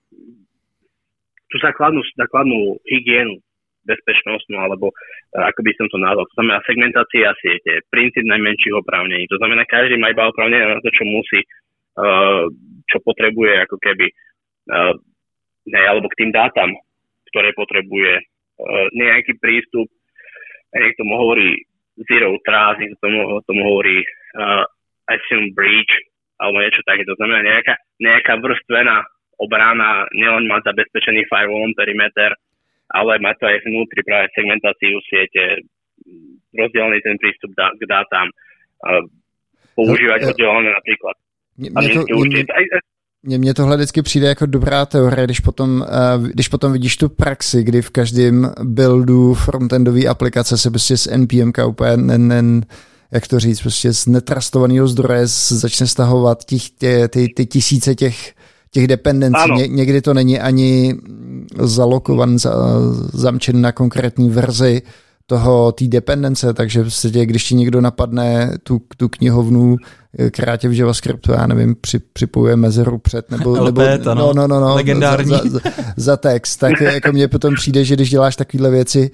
tú základnú hygienu, bezpečnostnú, alebo ako by som to nazval. To znamená segmentácia siete, princíp najmenších oprávnení. To znamená, každý má iba oprávnenie na to, čo musí, čo potrebuje, ako keby, alebo k tým dátam, ktoré potrebuje nejaký prístup. Niekto mu hovorí zero trust, niekto tomu hovorí assume breach, alebo niečo také. To znamená nejaká vrstvená obrana, nielen mať zabezpečený firewallom perimeter, ale mať to aj vnútri práve segmentáciu siete, rozdelený ten prístup k dátam, používať oddelené napríklad. Mně tohle vždycky přijde jako dobrá teorie, když potom vidíš tu praxi, kdy v každém buildu frontendové aplikace se prostě z NPMka úplně jak to říct, prostě z netrastovaného zdroje začne stahovat ty tisíce těch dependencí. Někdy to není ani zalokovan, zamčen na konkrétní verzi té dependence, takže vlastně, když ti někdo napadne tu knihovnu, která tě v JavaScriptu, já nevím, připojuje mezeru před, nebo legendární. Za text, tak jako mně potom přijde, že když děláš takovéhle věci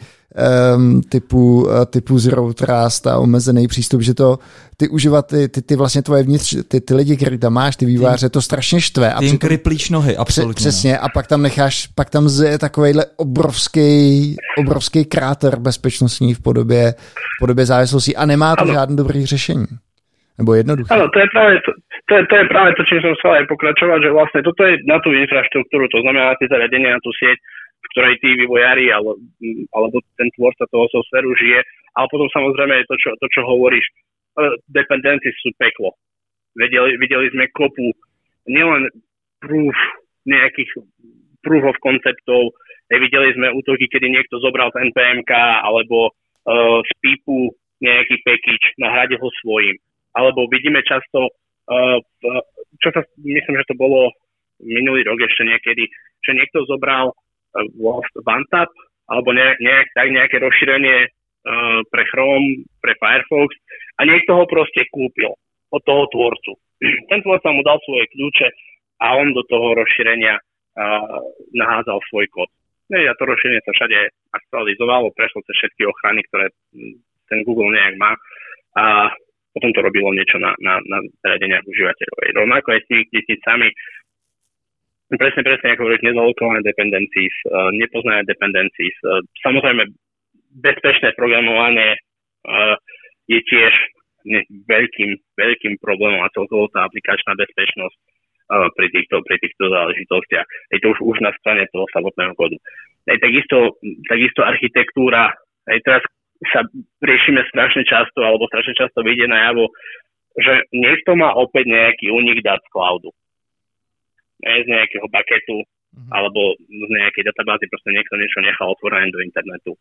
typu Zero Trust a omezený přístup, že to ty užívají, ty vlastně tvoje vnitř, ty lidi, který tam máš, ty vývojáře, to strašně štve. Ty jim kriplíš nohy, absolutně. Přesně, a pak tam je takovejhle obrovský kráter bezpečnostní v podobě závislostí a nemá to žádné dobré řešení. Nebo jednoduché. Áno, to je práve to, čím som chcel aj pokračovať, že vlastne toto je na tú infraštruktúru, to znamená na tie zariadenia, na tú sieť, v ktorej tí vývojári alebo ten tvorca toho softvéru žije. Ale potom samozrejme je to, čo hovoríš, dependencies sú peklo. Videli sme kopu nielen nejakých proof of konceptov, videli sme útoky, kedy niekto zobral z NPMK alebo z PIPu nejaký package, nahradil ho svojím. Alebo vidíme často, myslím, že to bolo minulý rok ešte niekedy, že niekto zobral OneTap alebo nejaké rozšírenie pre Chrome, pre Firefox a niekto ho proste kúpil od toho tvorcu. Ten tvorca mu dal svoje kľúče a on do toho rozšírenia nahádzal svoj kód. A to rozšírenie sa všade aktualizovalo, prešlo cez všetky ochrany, ktoré ten Google nejak má a potom to robilo niečo na zariadeniach užívateľov. Rovnako aj s tými tisícami, presne ako hovoríš, nezalokované dependencies, nepoznané dependencies. Samozrejme, bezpečné programovanie je tiež veľkým problémom a celkovo tá aplikačná bezpečnosť pri týchto záležitostiach. Je to už na strane toho samotného kódu. Takisto architektúra. Teraz sa riešime strašne často vyjde najavo, že niekto má opäť nejaký únik dát z cloudu. Z nejakého bucketu alebo z nejakej databázy, proste niekto niečo nechal otvorené do internetu.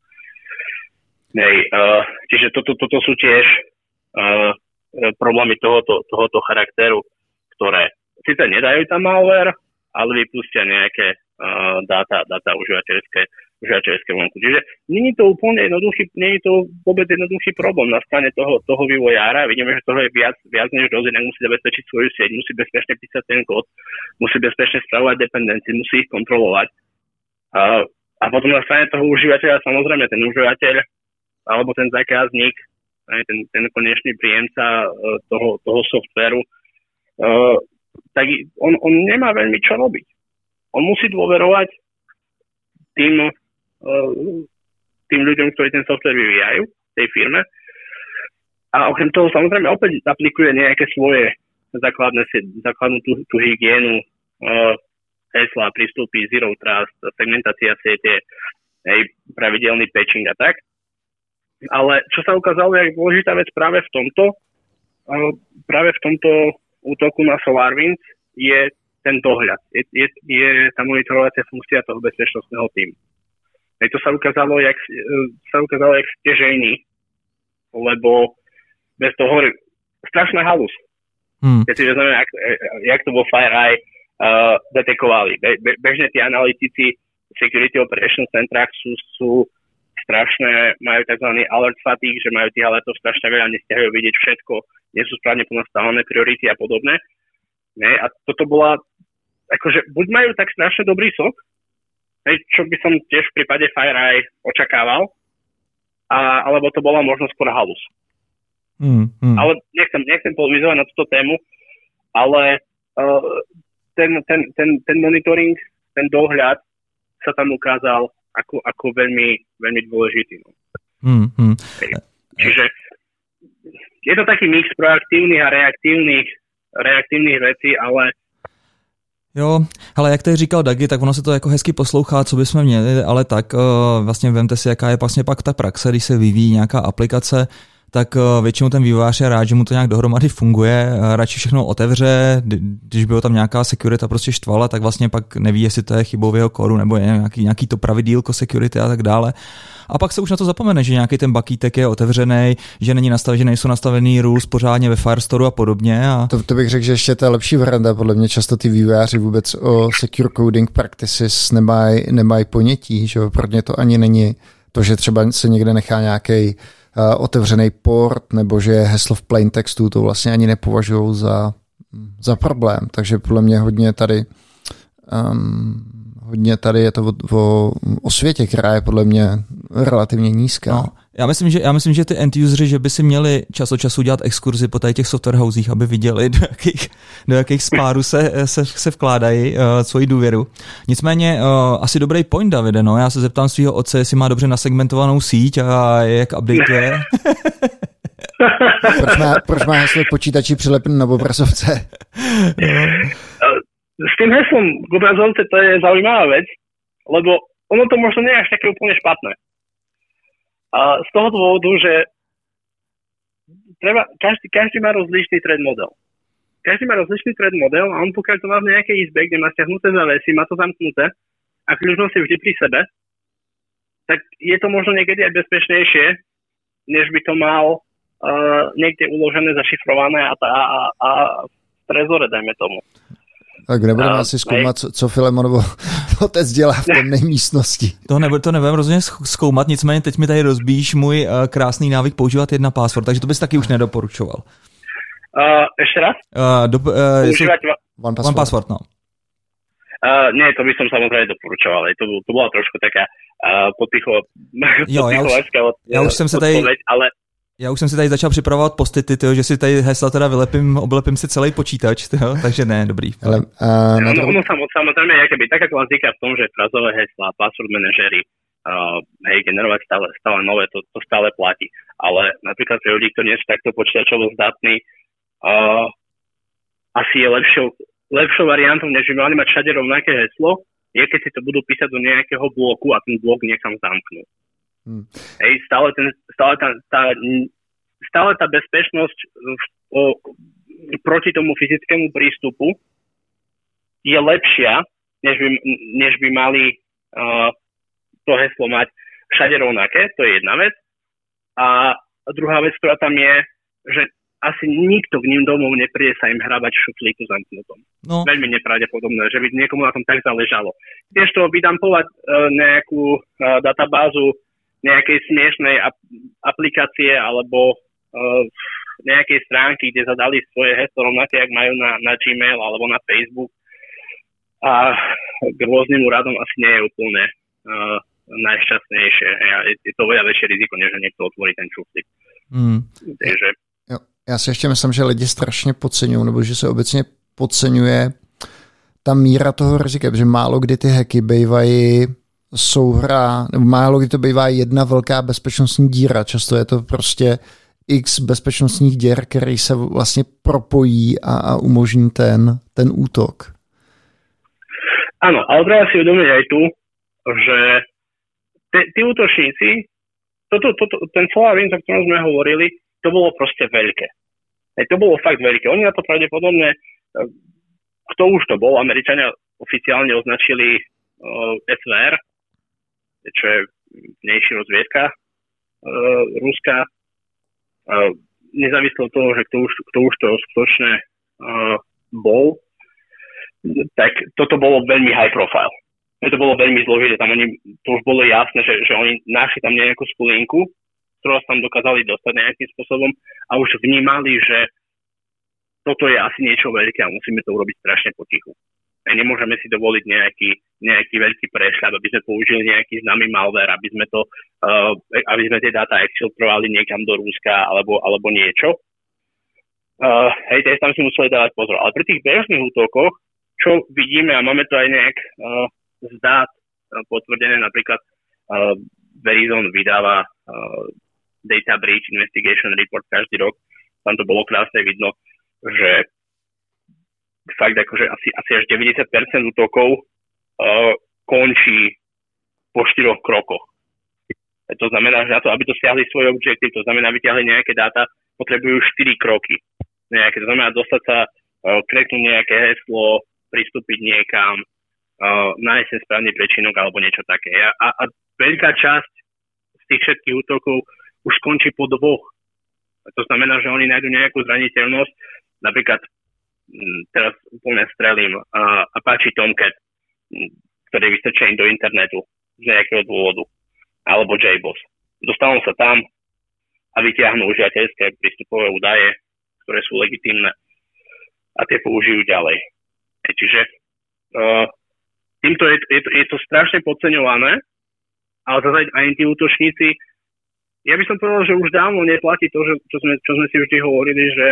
Čiže toto sú tiež problémy tohoto charakteru, ktoré síce nedajú tam malware, ale vypustia nejaké dáta užívateľské vonku. Čiže nie je to vôbec jednoduchý problém na strane toho vývojára. Vidíme, že toho je viac než dosť, inak musí zabezpečiť svoju sieť, musí bezpečne písať ten kód, musí bezpečne spravovať dependencie, musí ich kontrolovať. A potom na strane toho užívateľa, samozrejme, ten užívateľ alebo ten zákazník, ten konečný príjemca toho softvéru, tak on nemá veľmi čo robiť. On musí dôverovať tým ľuďom, ktorí ten softvér vyvíjajú v tej firme. A okrem toho samozrejme opäť aplikuje nejaké svoje základnú tú hygienu, hesla, prístupy, zero trust, segmentácia siete, pravidelný patching a tak. Ale čo sa ukázalo, je dôležitá vec práve v tomto útoku na SolarWinds je ten dohľad. Je tá monitorovacia funkcia toho bezpečnostného týmu. To sa ukázalo, jak stěžejný, lebo bez toho hovorí strašná halus. Keď si vezmeme, jak to vo FireEye detekovali. Bežne tí analytici Security Operations centrách sú strašné, majú tzv. Alert fatigue, že majú tých alertov strašne veľa, nestihajú vidieť všetko, nie sú správne ponastavené priority a podobné. A toto bola, akože buď majú tak strašne dobrý sok, čo by som tiež v prípade FireEye očakával, alebo to bola možno skôr halus. Ale nechcem polemizovať na túto tému, ale ten monitoring, ten dohľad sa tam ukázal ako veľmi, veľmi dôležitý. Čiže je to taký mix proaktívnych a reaktívnych vecí, ale Jo, ale jak tady říkal Dagi, tak ono se to jako hezky poslouchá, co bychom měli, ale tak vlastně vemte si, jaká je vlastně pak ta praxe, když se vyvíjí nějaká aplikace, tak většinou ten vývojář je rád, že mu to nějak dohromady funguje, radši všechno otevře, když by ho tam nějaká security prostě štvala, tak vlastně pak neví, jestli to je chybou v jeho kódu, nebo je nějaký to pravidílko security a tak dále. A pak se už na to zapomene, že nějaký ten bucketek je otevřený, že nejsou nastavený rules pořádně ve Firestore a podobně. A to bych řekl, že ještě to je lepší varianta. Podle mě často ty vývojáři vůbec o secure coding practices nemají ponětí, že pro ně to ani není to, že třeba se někde nechá nějaký otevřený port, nebo že je heslo v plain textu, to vlastně ani nepovažují za problém. Takže podle mě hodně tady je to o osvětě, která je podle mě relativně nízká. No, já myslím, že ty end-useři, že by si měli čas od času dělat exkurzi po těch software housech, aby viděli, do jakých spárů se vkládají svoji důvěru. Nicméně asi dobrý point, Davide, no. Já se zeptám svého otce, jestli má dobře nasegmentovanou síť a jak updateuje. Proč má heslo počítači přilepený na obrazovce? S tým heslom k obrazovce to je zaujímavá vec, lebo ono to možno nie je až také úplne špatné. A z toho dôvodu, že každý má rozličný trade model. Každý má rozličný trade model a on pokiaľ to má v nejakej izbe, kde má stiahnuté zavesy, má to zamknuté a kľúč si vždy pri sebe, tak je to možno niekedy aj bezpečnejšie, než by to mal niekde uložené, zašifrované a v trezore, dajme tomu. Tak nebudeme asi zkoumat, co Filemonovo otec dělá v temné místnosti. To nebudeme rozhodně zkoumat, nicméně teď mi tady rozbíjíš můj krásný návyk používat 1Password, takže to bys taky už nedoporučoval. Ešte raz? Používať One Password, no. Nie, to by som samozrejme doporučoval. To bola trošku taká podpichovacká odpoveď, ale... Já už jsem si tady začal připravovat postity, že si tady hesla teda oblepím si celý počítač, takže ne, dobrý. Ono samozrejme, tak ako vám týka v tom, že frazové heslá, password manažery, generovať stále nové, to stále platí. Ale napríklad pre ľudí, ktorí nie sú takto počítačovo zdatní, asi je lepšou variantou, než by mali mať všade rovnaké heslo, je keď si to budú písať do nejakého bloku a ten blok niekam zamknú. Stále tá bezpečnosť proti tomu fyzickému prístupu je lepšia, než by mali to heslo mať všade rovnaké, to je jedna vec. A druhá vec, ktorá tam je, že asi nikto k ním domov nepríde sa im hrabať v šuflíku zamknutom. No. Veľmi nepravdepodobné, že by niekomu na tom tak záležalo. Tiež to vydampovať nejakú databázu nejakej smiešnej aplikácie alebo nejakej stránky, kde zadali svoje heslo rovnaké, jak majú na Gmail alebo na Facebook a k rôznym úradom asi nie je úplne najšťastnejšie. Je to veľa väčšie riziko, než niekto otvorí ten šuflík. Takže... Já si ještě myslím, že lidi strašně podceňují, nebo že se obecně podceňuje ta míra toho rizika, protože málo kdy ty hacky bývají souhra, nebo málo kdy to bývá jedna velká bezpečnostní díra. Často je to prostě x bezpečnostních děr, který se vlastně propojí a umožní ten útok. Áno, ale treba si uvedomiť aj tu, že tí útočníci, ten SolarWinds, o ktorom sme hovorili, to bolo proste veľké. To bolo fakt veľké. Oni na to pravdepodobne, kto už to bol, Američania oficiálne označili SVR, čo je vnejší rozviedka ruská, nezávisle od toho, že kto už to skutočne bol, tak toto bolo veľmi high profile. To bolo veľmi zložité, tam to už bolo jasné, že oni našli tam nejakú skulinku, ktorú tam dokázali dostať nejakým spôsobom a už vnímali, že toto je asi niečo veľké a musíme to urobiť strašne potichu. A nemôžeme si dovoliť nejaký veľký prešľad, aby sme použili nejaký známy malware, aby sme tie dáta exfiltrovali niekam do Ruska alebo niečo. Tam si museli dávať pozor. Ale pri tých bežných útokoch, čo vidíme a máme to aj nejak z dát potvrdené, napríklad Verizon vydáva Data Breach Investigation Report každý rok. Tam to bolo krásne vidno, že fakt akože asi až 90% útokov končí po 4 krokoch. To znamená, že na to, aby to stiahli svoj objektív, to znamená, vyťahli nejaké dáta, potrebujú 4 kroky. To znamená dostať sa, kreknúť nejaké heslo, pristúpiť niekam, nájsť ten správny prečinok alebo niečo také. A veľká časť z tých všetkých útokov už skončí po 2. To znamená, že oni nájdu nejakú zraniteľnosť, napríklad teraz úplne strelím Apache Tomcat, ktorý je vystrčený do internetu z nejakého dôvodu, alebo JBoss. Dostanú sa tam a vytiahnu užívateľské prístupové údaje, ktoré sú legitímne a tie použijú ďalej. Čiže týmto je to strašne podceňované, ale zase aj tí útočníci, ja by som povedal, že už dávno neplatí to, čo sme si vždy hovorili, že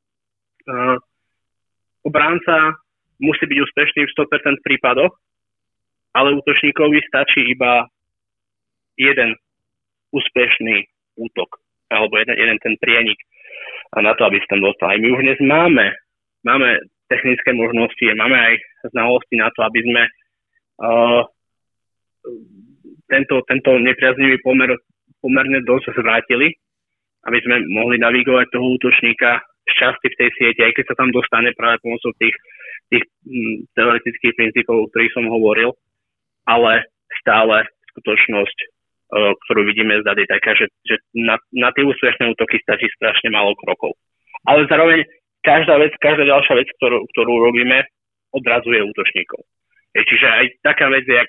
obránca musí byť úspešný v 100% prípadoch, ale útočníkovi stačí iba jeden úspešný útok, alebo jeden ten prienik na to, aby sa tam dostal. Aj my už dnes máme technické možnosti, máme aj znalosti na to, aby sme tento nepriaznivý pomer pomerne dosť zvrátili, aby sme mohli navigovať toho útočníka šťastie v tej sieti, aj keď sa tam dostane práve pomocou tých teoretických princípov, o ktorých som hovoril, ale stále skutočnosť, ktorú vidíme z dát, je taká, že na tie úspešné útoky stačí strašne málo krokov. Ale zároveň každá ďalšia vec, ktorú robíme, odradzuje útočníkov. Čiže aj taká vec, jak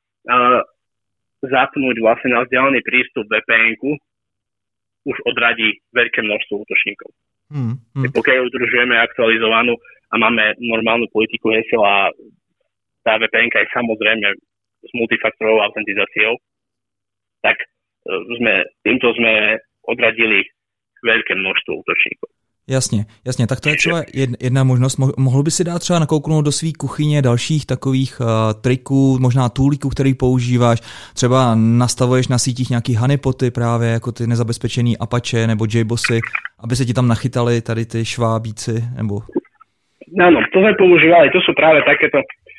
zapnúť vlastne na vzdialený prístup VPN-ku, už odradí veľké množstvo útočníkov. Pokiaľ udržujeme aktualizovanú a máme normálnu politiku hesiel a tá VPN-ka je samozrejme s multifaktorovou autentizáciou, tak týmto sme odradili veľké množstvo útočníkov. Jasně, tak to je třeba jedna možnost. Mohl by si dát třeba nakouknout do svý kuchyně dalších takových triků, možná toolíků, který používáš, třeba nastavuješ na sítích nějaký honeypoty právě, jako ty nezabezpečený Apache nebo JBossy, aby se ti tam nachytali tady ty švábíci, nebo... Áno, to sme používali, to sú práve takéto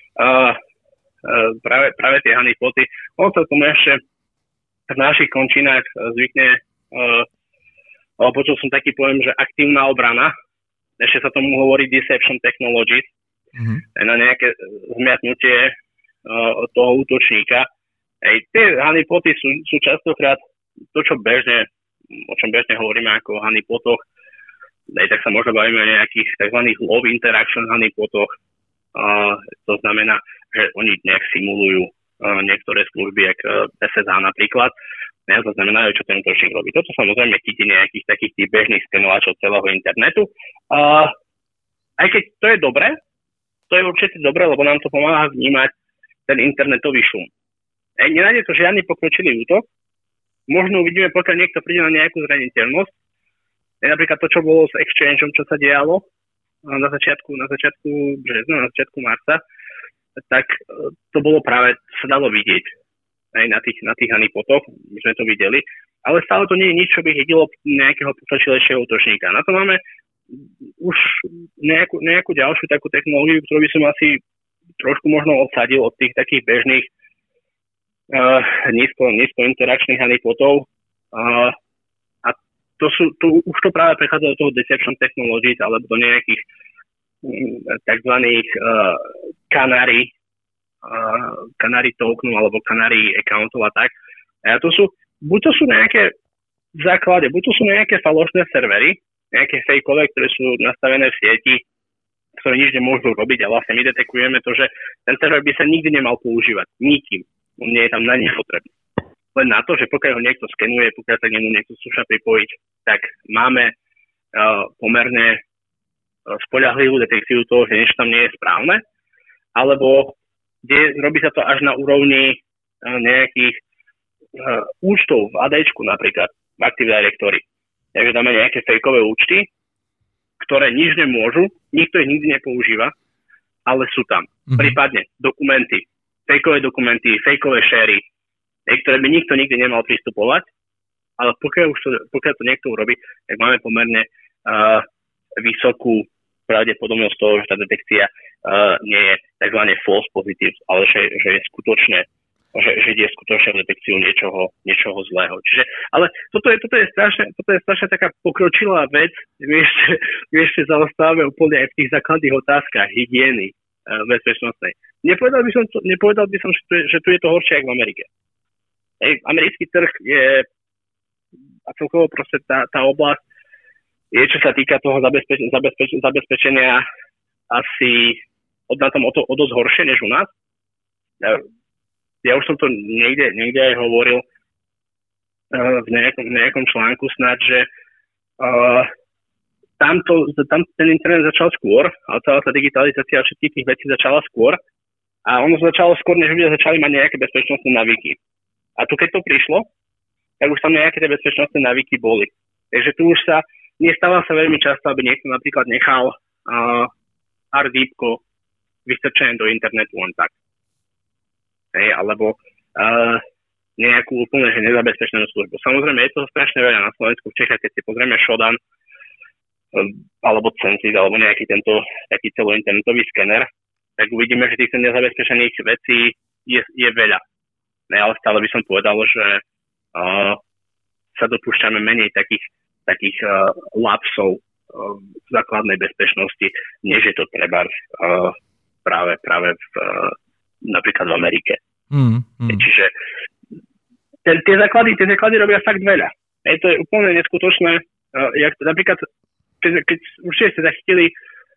práve tie honeypoty. On sa tomu ešte v našich končinách zvykne ale počul som taký pojem, že aktívna obrana, ešte sa tomu hovorí deception technologies, na nejaké zmiatnutie toho útočníka. Tie honeypoty sú častokrát to, o čom bežne hovoríme ako o honeypotoch, tak sa možno bavíme o nejakých tzv. Low interaction honeypotoch. To znamená, že oni nejak simulujú niektoré služby, ako SSH napríklad. Nezaznamenajú, čo ten útočník robí. Toto samozrejme chytí nejakých takých tých bežných skenovačov celého internetu. Aj keď to je dobré, to je určite dobré, lebo nám to pomáha vnímať ten internetový šum. Nenájde to žiadny pokročilý útok. Možno uvidíme, pokiaľ niekto príde na nejakú zraniteľnosť. Napríklad to, čo bolo s Exchangeom, čo sa dialo na začiatku března, na začiatku marca, tak to bolo práve, sa dalo vidieť aj na tých honeypotoch, my sme to videli, ale stále to nie je nič, čo by hydilo nejakého pokročilejšieho útočníka. Na to máme už nejakú ďalšiu takú technológiu, ktorú by som asi trošku možno odsadil od tých takých bežných nízko interakčných honeypotov. A už to práve prechádza do toho deception technologies alebo do nejakých takzvaných Canary tokenov alebo Canary accountov a tak. A buď to sú nejaké v základe, buď to sú nejaké falošné servery, nejaké fejkové, ktoré sú nastavené v sieti, ktoré nič nemôžu robiť a vlastne my detekujeme to, že ten server by sa nikdy nemal používať. Nikým. On nie je tam na nič potrebný. Len na to, že pokiaľ ho niekto skenuje, pokiaľ sa k nemu niekto skúša pripojiť, tak máme pomerne spoľahlivú detekciu toho, že niečo tam nie je správne, alebo kde robí sa to až na úrovni nejakých účtov v ADčku napríklad, v Active Directory. Takže dáme nejaké fejkové účty, ktoré nič nemôžu, nikto ich nikdy nepoužíva, ale sú tam. Prípadne dokumenty, fejkové šery, ktoré by nikto nikdy nemal pristupovať, ale pokiaľ to niekto urobí, tak máme pomerne vysokú pravdepodobnosť toho, že tá detekcia nie je tzv. False positive, ale že je skutočne, že ide skutočne detekciu niečoho zlého. Čiže, ale toto je strašne taká pokročilá vec, my ešte zaostávame úplne aj v tých základných otázkach hygieny bezpečnostnej. Nepovedal by som, že tu je to horšie ako v Amerike. Americký trh je a celkovo proste tá oblasť je, čo sa týka toho zabezpečenia asi na tom o dosť horšie než u nás. Ja už som to niekde aj hovoril v nejakom článku snad, že tam ten internet začal skôr, ale celá tá digitalizácia všetkých tých vecí začala skôr a ono začalo skôr, než ľudia začali mať nejaké bezpečnostné návyky. A tu keď to prišlo, tak už tam nejaké tie bezpečnostné návyky boli. Takže tu už nestáva sa veľmi často, aby niekto napríklad nechal hardípko vystrčené do internetu len tak. Alebo nejakú úplne že nezabezpečenú službu. Samozrejme, je toho strašne veľa na Slovensku, v Čechách, keď si pozrieme Shodan alebo Censis, alebo nejaký tento taký celointernetový skener, tak uvidíme, že týchto nezabezpečených vecí je veľa. Ne, ale stále by som povedal, že sa dopúšťame menej takých lapsov v základnej bezpečnosti, než je to trebárs práve napríklad v Amerike. Čiže tie základy robia fakt veľa. To je úplne neskutočné. Napríklad, keď určite ste zachytili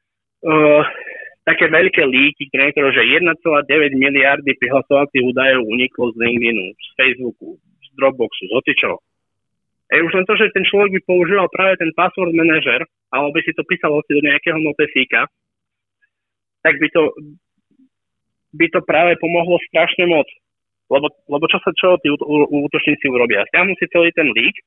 také veľké líky, že 1,9 miliardy prihlasovacích údajov uniklo z LinkedInu, z Facebooku, z Dropboxu, z hocičoho. Už len to, že ten človek by používal práve ten password manager, alebo by si to písal do nejakého notesíka, tak by to práve pomohlo strašne moc. Lebo čo tí útočníci urobia? Stiahnu si celý ten lík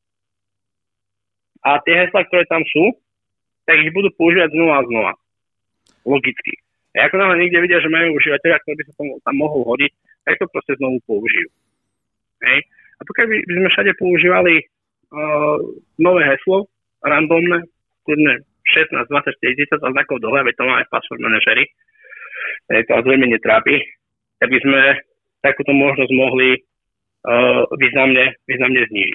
a tie heslá, ktoré tam sú, tak ich budú používať znova a znova. Logicky. A ako náhle niekde vidia, že majú užívateľa, ktorý by sa tam mohol hodiť, tak to proste znovu použijú. Hej. A pokiaľ by sme všade používali nové heslo, randomné, kľudne 16, 20, 40 znakov dole, veď to máme v password manažeri, to vás veľmi netrápi, tak by sme takúto možnosť mohli významne znížiť.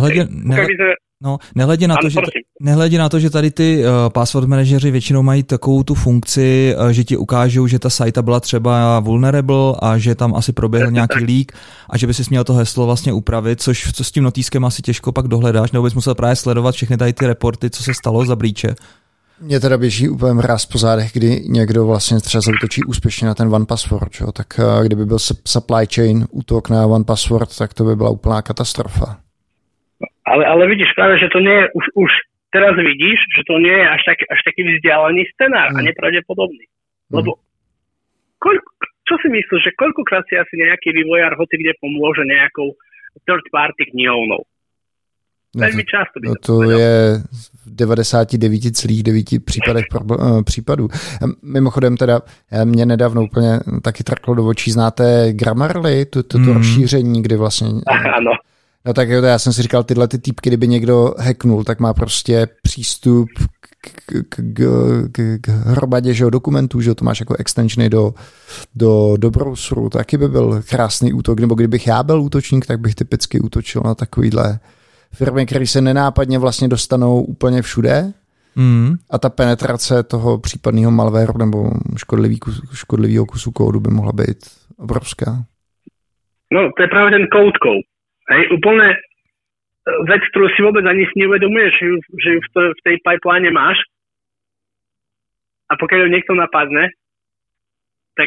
Nehledě na to, že tady ty password manažeři většinou mají takovou tu funkci, že ti ukážou, že ta sajta byla třeba vulnerable a že tam asi proběhl nějaký leak a že by si měl to heslo vlastně upravit, což s tím notýskem asi těžko pak dohledáš, nebo bys musel právě sledovat všechny tady ty reporty, co se stalo za breache. Mně teda běží úplně mráz po zádech, kdy někdo vlastně třeba zautočí úspěšně na ten OnePassword, jo? Tak kdyby byl supply chain útok na OnePassword, tak to by byla úplná katastrofa. Ale vidíš práve, že to nie je, už teraz vidíš, že to nie je až taký vzdialený scenár a nepravdepodobný. Lebo čo si myslíš, že koľkokrát si asi nejaký vývojár hoci kde pomôže nejakou third party knihovnou? Veľmi často by to je v 99,9 případů. Mimochodem teda mě nedávno úplně taky trklo do očí. Znáte Grammarly, to rozšíření, kdy vlastně... Ano. No tak jo, já jsem si říkal, tyhle ty týpky, kdyby někdo hacknul, tak má prostě přístup k hromadě, že, dokumentů, že to máš jako extensiony do browseru, taky by byl krásný útok, nebo kdybych já byl útočník, tak bych typicky útočil na takovýhle firmy, které se nenápadně vlastně dostanou úplně všude a ta penetrace toho případného malwareu nebo škodlivého kusu kódu by mohla být obrovská. No, to je práve ten code code. Hej, úplne vec, ktorú si vôbec ani neuvedomuješ, že ju v tej pipeline máš a pokiaľ ju niekto napadne, tak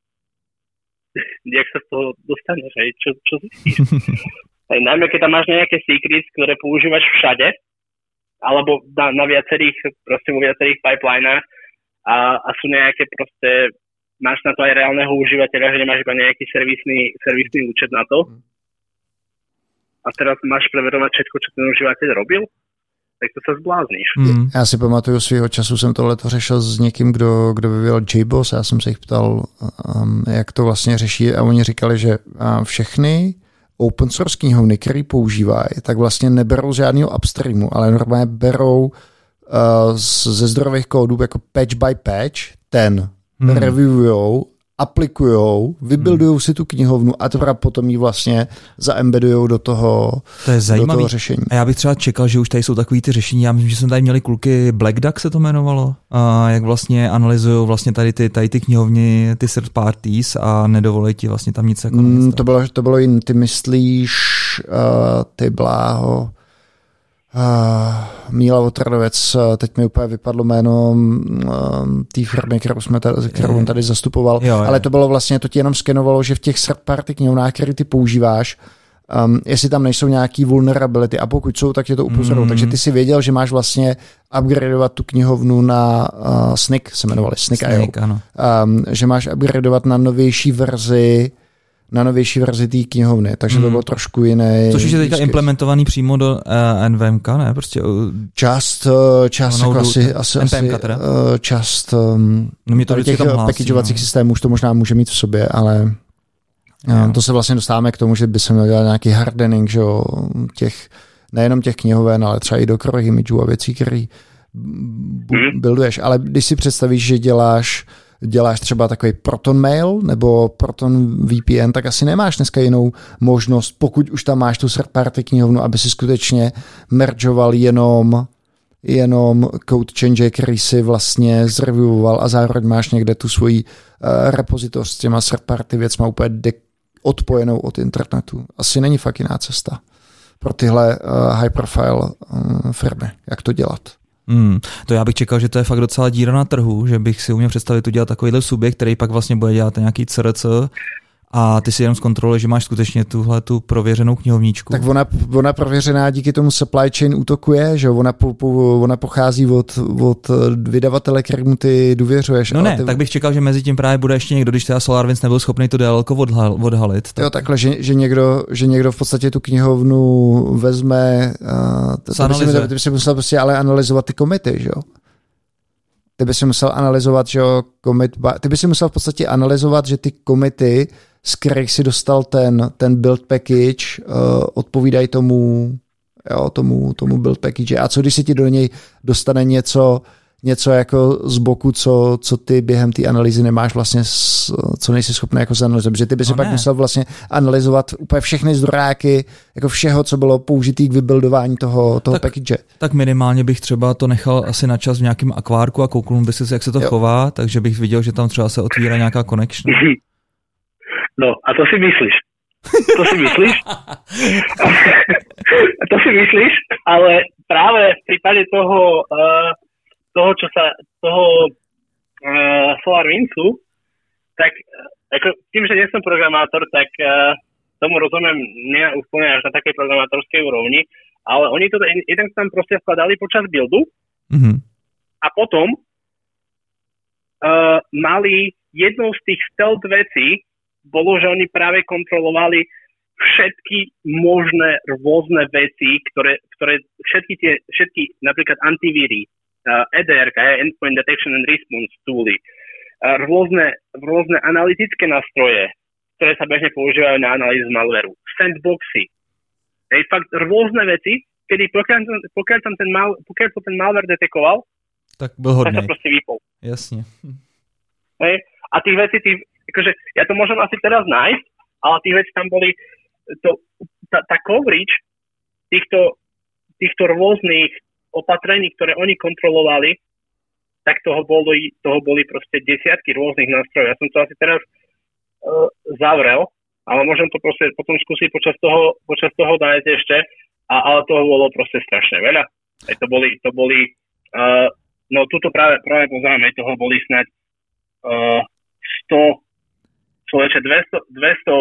jak sa z toho dostaneš, hej, čo zistíš? Hej, najmä keď tam máš nejaké secrets, ktoré používaš všade, alebo na viacerých, proste vo viacerých pipelinách a sú nejaké proste, máš na to aj reálneho užívateľa, že nemáš iba nejaký servisný účet na to, a teraz máš preverovať všetko, čo ten užívateľ robil, tak to sa zblázníš. Já si pamatuju, svýho času jsem tohleto řešil s někým, kdo vyvíjel JBoss. Já jsem se jich ptal, jak to vlastně řeší a oni říkali, že všechny open source knihovny, který používají, tak vlastně neberou žádného upstreamu, ale normálně berou ze zdrojových kódů jako patch by patch, reviewujou, aplikujou, vybuildujou si tu knihovnu a teprve potom ji vlastně zaembedujou do toho řešení. A já bych třeba čekal, že už tady jsou takový ty řešení. Já myslím, že jsme tady měli kluky Black Duck se to jmenovalo, a jak vlastně analyzují vlastně tady ty knihovny, ty third parties a nedovolí ti vlastně tam nic jako to bylo jiný. Ty myslíš ty bláho Míla Otradovec, teď mi úplně vypadlo jméno té firmy, kterou on tady zastupoval, ale to bylo vlastně, to ti jenom skenovalo, že v těch third party knihovnách, které ty používáš, jestli tam nejsou nějaký vulnerability a pokud jsou, tak tě to upozorou. Takže ty si věděl, že máš vlastně upgradeovat tu knihovnu na SNCC, se jmenovali SNCC.io, že máš upgradeovat na novější verzi té knihovny, takže to bylo trošku jiné. Což je teďka implementovaný přímo do NVMK, ne? Prostě část jako část těch packageovacích systémů už to možná může mít v sobě, ale to se vlastně dostáváme k tomu, že by se měl dělat nějaký hardening, že nejenom těch knihoven, ale třeba i do core imageů a věcí, které builduješ. Ale když si představíš, že děláš děláš třeba takový Proton Mail nebo Proton VPN, tak asi nemáš dneska jinou možnost, pokud už tam máš tu third party knihovnu, aby si skutečně mergeoval jenom code change, který si vlastně zreviewoval a zároveň máš někde tu svoji repozitoř s těma third party věcma úplně odpojenou od internetu. Asi není fakt jiná cesta pro tyhle high profile firmy, jak to dělat. To já bych čekal, že to je fakt docela díra na trhu, že bych si uměl představit udělat takovýhle subjekt, který pak vlastně bude dělat nějaký CRC a ty si jenom zkontroluješ, že máš skutečně tuhle tu prověřenou knihovníčku. Tak ona prověřená díky tomu supply chain útokuje, že ona pochází od vydavatele, kterému ty důvěřuješ. No ne, tak bych čekal, že mezi tím právě bude ještě někdo, když teda SolarWinds nebyl schopný to DLL odhalit. Tak... Jo, takhle, že někdo v podstatě tu knihovnu vezme, ty by si musel prostě ale analyzovat ty komity, že jo? Ty by si musel analyzovat, že jo, ty by si musel v podstatě analyzovat, že ty komity, z kterých si dostal ten build package, odpovídají tomu build package. A co když si ti do něj dostane něco jako z boku, co ty během té analýzy nemáš vlastně, co nejsi schopný jako zanalizovat, protože ty by si pak musel vlastně analyzovat úplně všechny zdrojáky, jako všeho, co bylo použitý k vybuildování toho package. Tak minimálně bych třeba to nechal asi na čas v nějakém akvárku a kouknul by si, jak se to chová, takže bych viděl, že tam třeba se otvírá nějaká connection. No, a to si myslíš? To si myslíš? To si myslíš, ale práve v prípade toho SolarWindsu, tak ako tým, že nie som programátor, tak tomu rozumiem nie úplne až na takej programátorskej úrovni, ale oni to jeden tam proste skladali počas buildu a potom mali jednou z tých stealth vecí bolo, že oni práve kontrolovali všetky možné rôzne veci, ktoré všetky napríklad antivíry, EDR, Endpoint Detection and Response tooly, rôzne analytické nástroje, ktoré sa bežne používajú na analýzu malwareu, sandboxy, fakt rôzne veci, kedy pokiaľ to ten malware detekoval, tak byl hodnej. Tak sa proste vypol. Jasne. A tých vecí, akože ja to môžem asi teraz nájsť, ale tých vecí tam boli, tá coverage týchto rôznych opatrení, ktoré oni kontrolovali, tak toho boli proste desiatky rôznych nástrojov. Ja som to asi teraz zavrel, ale môžem to proste potom skúsiť počas toho nájsť ešte, ale toho bolo proste strašne veľa. To boli no tuto práve poznáme, toho boli snáď 251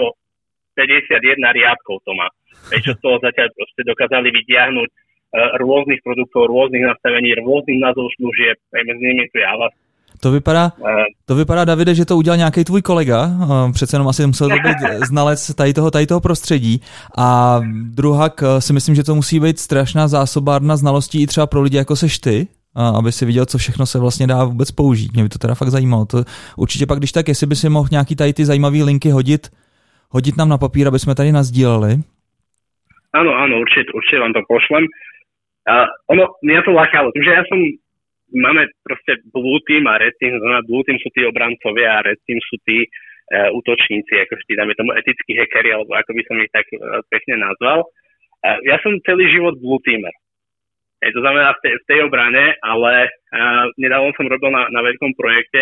riadkov to má. Čo z toho zatiaľ proste dokázali vytiahnuť rôznych produktov, rôznych nastavení, rôznych názov služieb, medzi nimi tu je Avast. To vypadá, Davide, že to udělal nějaký tvůj kolega, přece jenom asi musel to být znalec tady toho prostředí a druhak si myslím, že to musí být strašná zásobárna znalostí i třeba pro lidi jako seš ty, aby si viděl, co všechno se vlastně dá vůbec použít. Mě by to teda fakt zajímalo. To určitě pak, když tak, jestli by si mohl nějaký tady ty zajímavý linky hodit nám na papír, aby jsme tady nasdíleli. Áno, určite vám to pošlem. Mňa to lákalo, že máme proste Blue Team a Red Team, znamená Blue Team sú tí obrancovia a Red Team sú tí útočníci, ako vždy dáme tomu etickí hackeri, alebo ako by som ich tak pekne nazval. Ja som celý život Blue Teamer. To znamená v tej obrane, ale nedávno som robil na veľkom projekte,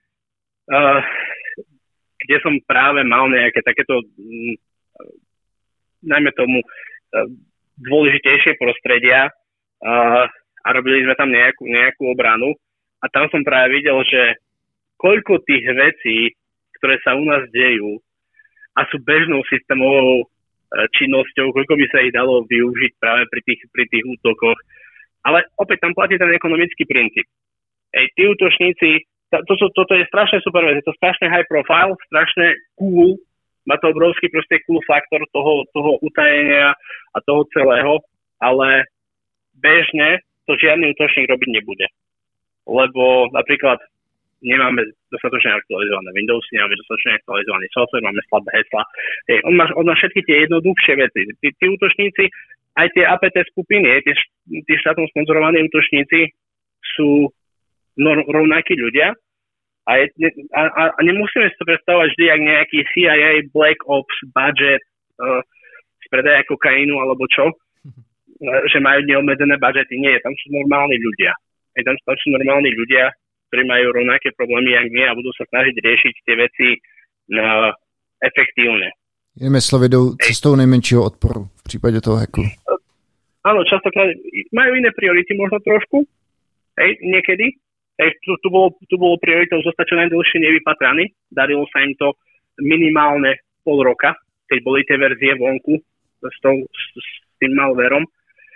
kde som práve mal nejaké takéto, najmä tomu, dôležitejšie prostredia a robili sme tam nejakú obranu a tam som práve videl, že koľko tých vecí, ktoré sa u nás dejú a sú bežnou systémovou činnosťou, koľko by sa ich dalo využiť práve pri tých útokoch. Ale opäť tam platí ten ekonomický princíp. Tí útočníci, toto je strašne super vec, je to strašne high profile, strašne cool, má to obrovský proste cool faktor toho utajenia a toho celého, ale bežne to žiadny útočník robiť nebude. Lebo napríklad nemáme dostatočne aktualizované Windowsy, nemáme dostatočne aktualizovaný software, máme slabé hesla. On má všetky tie jednoduchšie veci. Tí útočníci, aj tie APT skupiny, tí štátom sponzorovaní útočníci sú rovnakí ľudia A nemusíme si to predstavovať vždy, jak nejaký CIA, Black Ops, budget z predaja kokainu alebo čo, že majú neobmedzené budžety. Nie, tam sú normálni ľudia. Tam sú normálni ľudia, ktorí majú rovnaké problémy, jak my a budú sa snažiť riešiť tie veci efektívne. Jinými slovy, jdou cestou nejmenšího odporu v případě toho hacku. Áno, častokrát majú iné priority možno trošku, niekedy. Tu bolo prioritou zostať čo najdlhšie nevypatraný. Darilo sa im to minimálne pol roka, keď boli tie verzie vonku s tým malverom.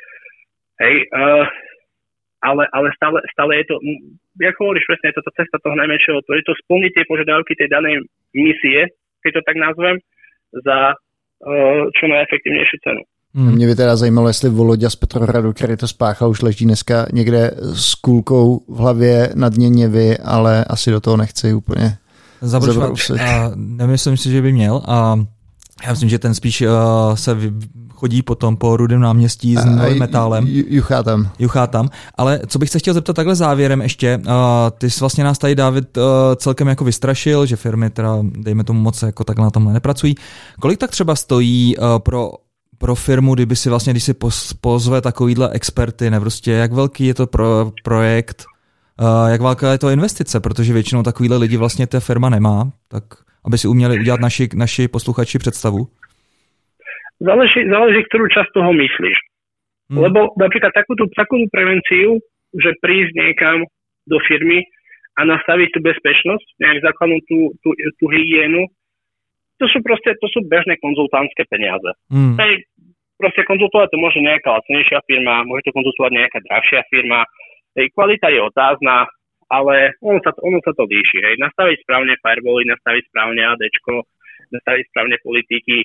Ale stále je to, jak hovoríš presne, je to tá cesta toho najmenšieho, to je to splniť tie požiadavky tej danej misie, keď to tak nazvem, za čo najefektívnejšiu cenu. Mě by teda zajímalo, jestli Voloďa z Petrohradu, který to spáchal, už leží dneska někde s kůlkou v hlavě na dně Něvy, ale asi do toho nechci úplně zabrousit. A nemyslím si, že by měl. A já myslím, že ten spíš se chodí potom po Rudém náměstí s novým metálem. Juchá tam. Ale co bych se chtěl zeptat takhle závěrem ještě, ty jsi vlastně nás tady, Dávid, celkem jako vystrašil, že firmy teda, dejme tomu moc, jako takhle na tomhle nepracují. Kolik tak třeba stojí pro firmu, když si pozve takovýhle experty, ne prostě, jak velký je to projekt, jak velká je to investice, protože většinou takovýhle lidi vlastně ta firma nemá, tak aby si uměli udělat naši posluchači představu. Záleží, ktorú časť toho myslíš. Lebo napríklad takúto prevenciu, že prísť niekam do firmy a nastaviť tú bezpečnosť, nejak základnú tú hygienu, to sú bežné konzultantské peniaze. Proste konzultovať to môže nejaká lacnejšia firma, môže to konzultovať nejaká drahšia firma. Kvalita je otázna, ale ono sa to líši. Nastaviť správne firewally, nastaviť správne ADčko, nastaviť správne politiky.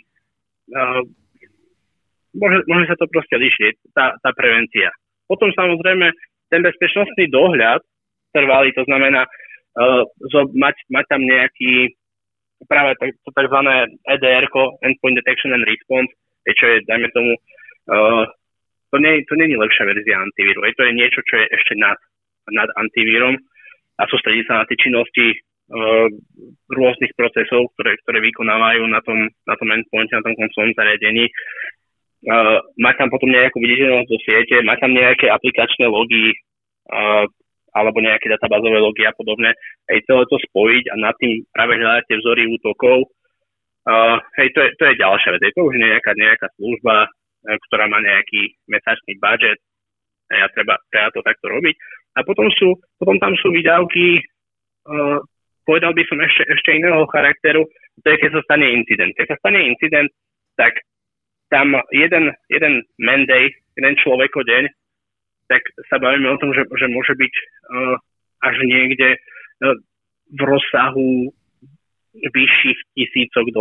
Môže sa to proste líšiť, tá prevencia. Potom samozrejme ten bezpečnostný dohľad trvalý, to znamená mať tam nejaký práve to takzvané EDR-ko, Endpoint Detection and Response, čo je, dajme tomu, to nie je lepšia verzia antivíru. To je niečo, čo je ešte nad antivírom a sústredí sa na tie činnosti rôznych procesov, ktoré vykonávajú na tom endpointe, na tom konsolnom zariadení. Má tam potom nejakú viditeľnosť do siete, má tam nejaké aplikačné logy alebo nejaké databázové logy a podobne. Celé to spojiť a nad tým práve hľadať tie vzory útokov. To je ďalšia vec. To už je nejaká služba, ktorá má nejaký mesačný budget a treba to takto robiť. A potom tam sú výdavky, povedal by som ešte iného charakteru, to je, keď sa stane incident. Keď sa stane incident, tak tam jeden man-day, jeden človekodeň, tak sa bavíme o tom, že môže byť až niekde v rozsahu vyšších $1000.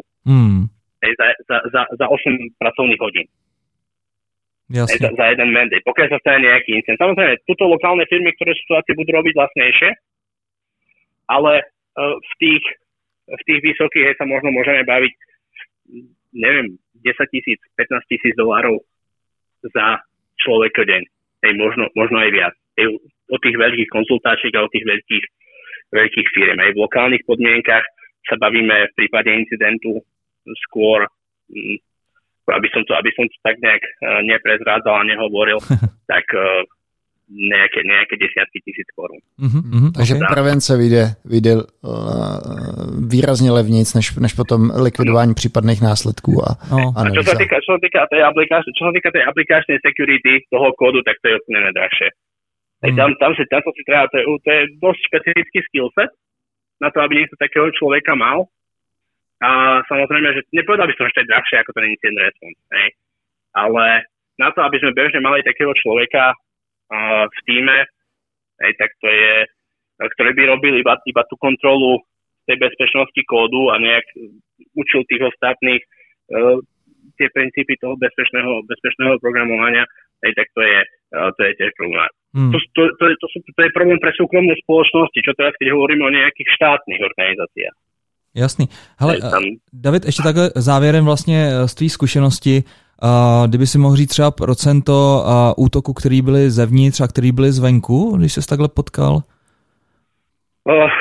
Za 8 pracovných hodín. Za jeden man-day. Pokiaľ sa stane nejaký incident. Samozrejme, tuto lokálne firmy, ktoré situácie budú robiť vlastnejšie, ale v tých vysokých sa možno môžeme baviť, neviem, $10,000, $15,000 za človeka deň. Možno aj viac. O tých veľkých konzultáciách a o tých veľkých firm. Aj v lokálnych podmienkach sa bavíme v prípade incidentu skôr, aby som to tak nejak neprezrádzal a nehovoril, tak nejaké desiatky tisíc korún. Takže prevence vyjde výrazně levnějc, než potom likvidování případných následků. A čo sa týka tej aplikačnej security toho kódu, tak to je úplne nedrahšie. Tam si treba, to je dosť špecifický skillset na to, aby niekto takého človeka mal. A samozrejme, že nepovedal by som, že to je drahšie ako ten incident response. Ale na to, aby sme bežne mali takého človeka v tíme, tak to je, ktorý by robil iba tú kontrolu tej bezpečnosti kódu a nejak učil tých ostatných tie princípy toho bezpečného programovania, tak to je tiež problém. To je problém pre súkromné spoločnosti, čo teraz, keď hovoríme o nejakých štátnych organizáciách. Jasný. Hele, David, ještě takhle závěrem vlastně z tvý zkušenosti, kdyby si mohl říct třeba procento útoku, který byly zevnitř a který byly zvenku, když ses takhle potkal?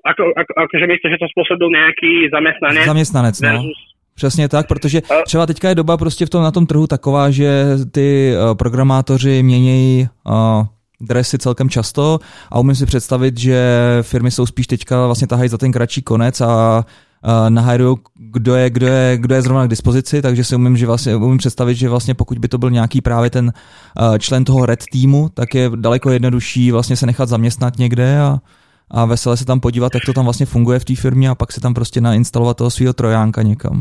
Akože myslíš, že to spôsobil nejaký zamestnanec? Zamestnanec, no. Přesně tak, protože třeba teďka je doba prostě na tom trhu taková, že ty programátoři měnějí dresy celkem často a umím si představit, že firmy jsou spíš teďka vlastně tahají za ten kratší konec a nahajrujou, kdo je zrovna k dispozici, takže si umím představit, že vlastně pokud by to byl nějaký právě ten člen toho red týmu, tak je daleko jednodušší vlastně se nechat zaměstnat někde a veselé se tam podívat, jak to tam vlastně funguje v té firmě a pak si tam prostě nainstalovat toho svého trojánka někam.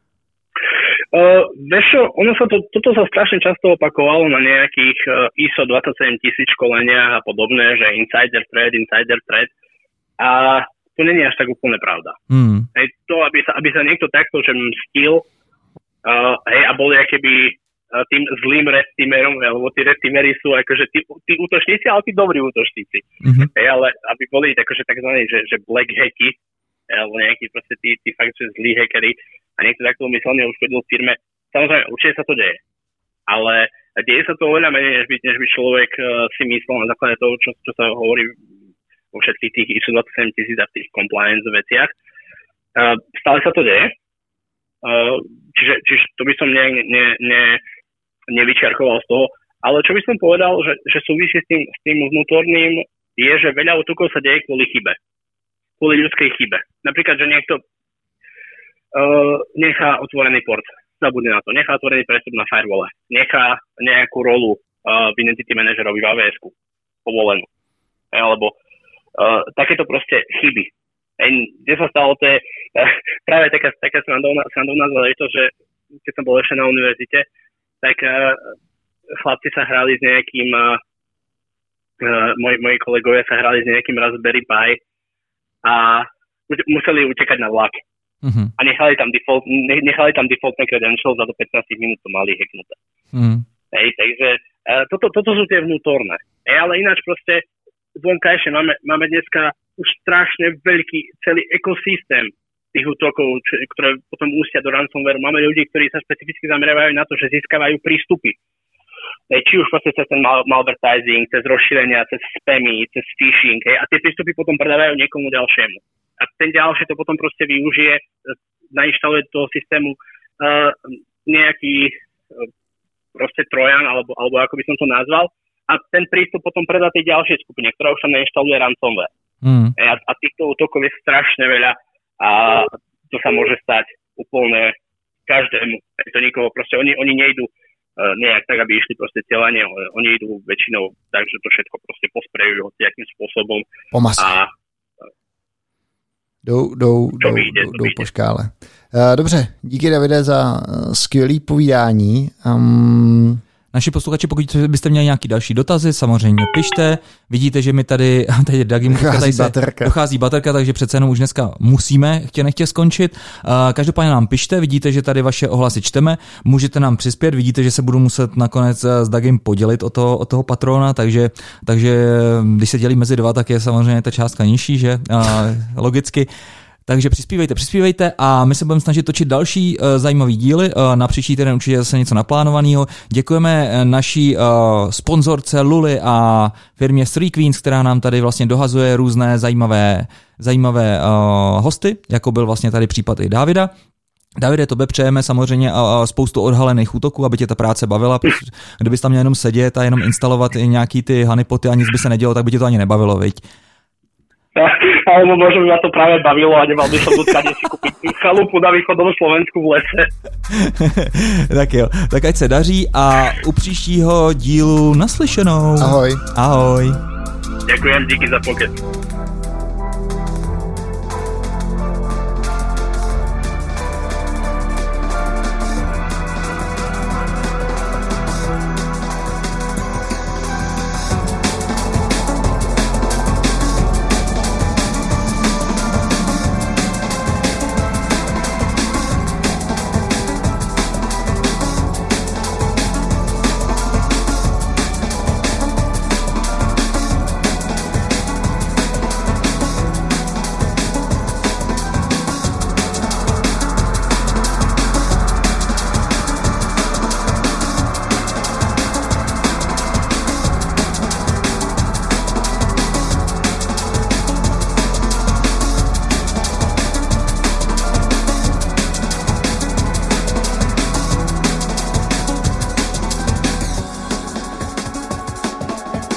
Vieš čo, toto sa strašne často opakovalo na nejakých ISO 27000 školeniach a podobné, že insider thread a to nie je až tak úplne pravda. Hej, to, aby sa niekto takto že mstil a bol keby tým zlým red teamerom, lebo tí red teamery sú akože tí útočníci, ale tí dobrí útočníci. Hej, ale aby boli akože takzvaní, že black hacky, alebo nejakí proste tí fakt, že zlí hackeri a niekto takto umyselne uškodil v firme. Samozrejme, určite sa to deje. Ale deje sa to oveľa menej, než by človek si myslel na základe toho, čo sa hovorí vo všetkých tých ISO 27000 a v tých compliance veciach. Stále sa to deje. Čiže to by som nevyčiarkoval z toho. Ale čo by som povedal, že súvisí s tým vnútorným, je, že veľa útokov sa deje kvôli chybe. Kvôli ľudskej chybe. Napríklad, že niekto nechá otvorený port, zabudne na to, nechá otvorený prestup na firewall, nechá nejakú rolu v identity manažerovi v AWS-ku povolenú. Alebo takéto proste chyby. Kde sa stalo, to je práve taká srandovná záležitosť, že keď som bol ešte na univerzite, tak chlapci sa hrali s nejakým, moji kolegovia sa hrali s nejakým Raspberry Pi a museli utekať na vlak. A nechali tam defaultné credentials a do 15 minút to mali hacknuté. Takže toto sú tie vnútorné. Ale ináč proste vonkajšie máme dneska už strašne veľký celý ekosystém tých útokov, ktoré potom ústia do ransomware. Máme ľudí, ktorí sa špecificky zameriavajú na to, že získavajú prístupy. Či už proste cez ten malvertising, cez rozšírenia, cez spamy, cez phishing. A tie prístupy potom predávajú niekomu ďalšiemu. A ten ďalší to potom proste využije, nainštaluje do toho systému nejaký proste trojan, alebo ako by som to nazval, a ten prístup potom predá tej ďalšej skupine, ktorá už tam nainštaluje ransomware. A týchto útokov je strašne veľa a to sa môže stať úplne každému. To nikoho, proste oni nejdú nejak tak, aby išli proste celanie, oni idú väčšinou tak, že to všetko proste posprejujú nejakým spôsobom. A Jdou po škále. Dobře, díky Davide za skvělý povídání. Naši posluchači, pokud byste měli nějaký další dotazy, samozřejmě pište. Vidíte, že mi tady Dagi dochází baterka, takže přece jenom už dneska musíme nechtě skončit. Každopádně nám pište, vidíte, že tady vaše ohlasy čteme, můžete nám přispět, vidíte, že se budu muset nakonec s Dagim podělit o toho patrona, takže když se dělí mezi dva, tak je samozřejmě ta částka nižší, že logicky. Takže přispívejte a my se budeme snažit točit další zajímavý díly. Na příští týden určitě zase něco naplánovaného. Děkujeme naší sponzorce Luli a firmě Three Queens, která nám tady vlastně dohazuje různé zajímavé hosty, jako byl vlastně tady případ i Davida. Davide, tobě přejeme samozřejmě spoustu odhalených útoků, aby tě ta práce bavila. Kdybys tam měl jenom sedět a jenom instalovat i nějaký ty honeypoty a nic by se nedělo, tak by tě to ani nebavilo, viď? Alebo možno by ma to práve bavilo a nemal by som dotkať si kúpiť chalupu na východnom Slovensku v lese. Tak jo, tak ať se daří a u příštího dílu naslyšenou. Ahoj. Ahoj. Ďakujem, díky za pokec.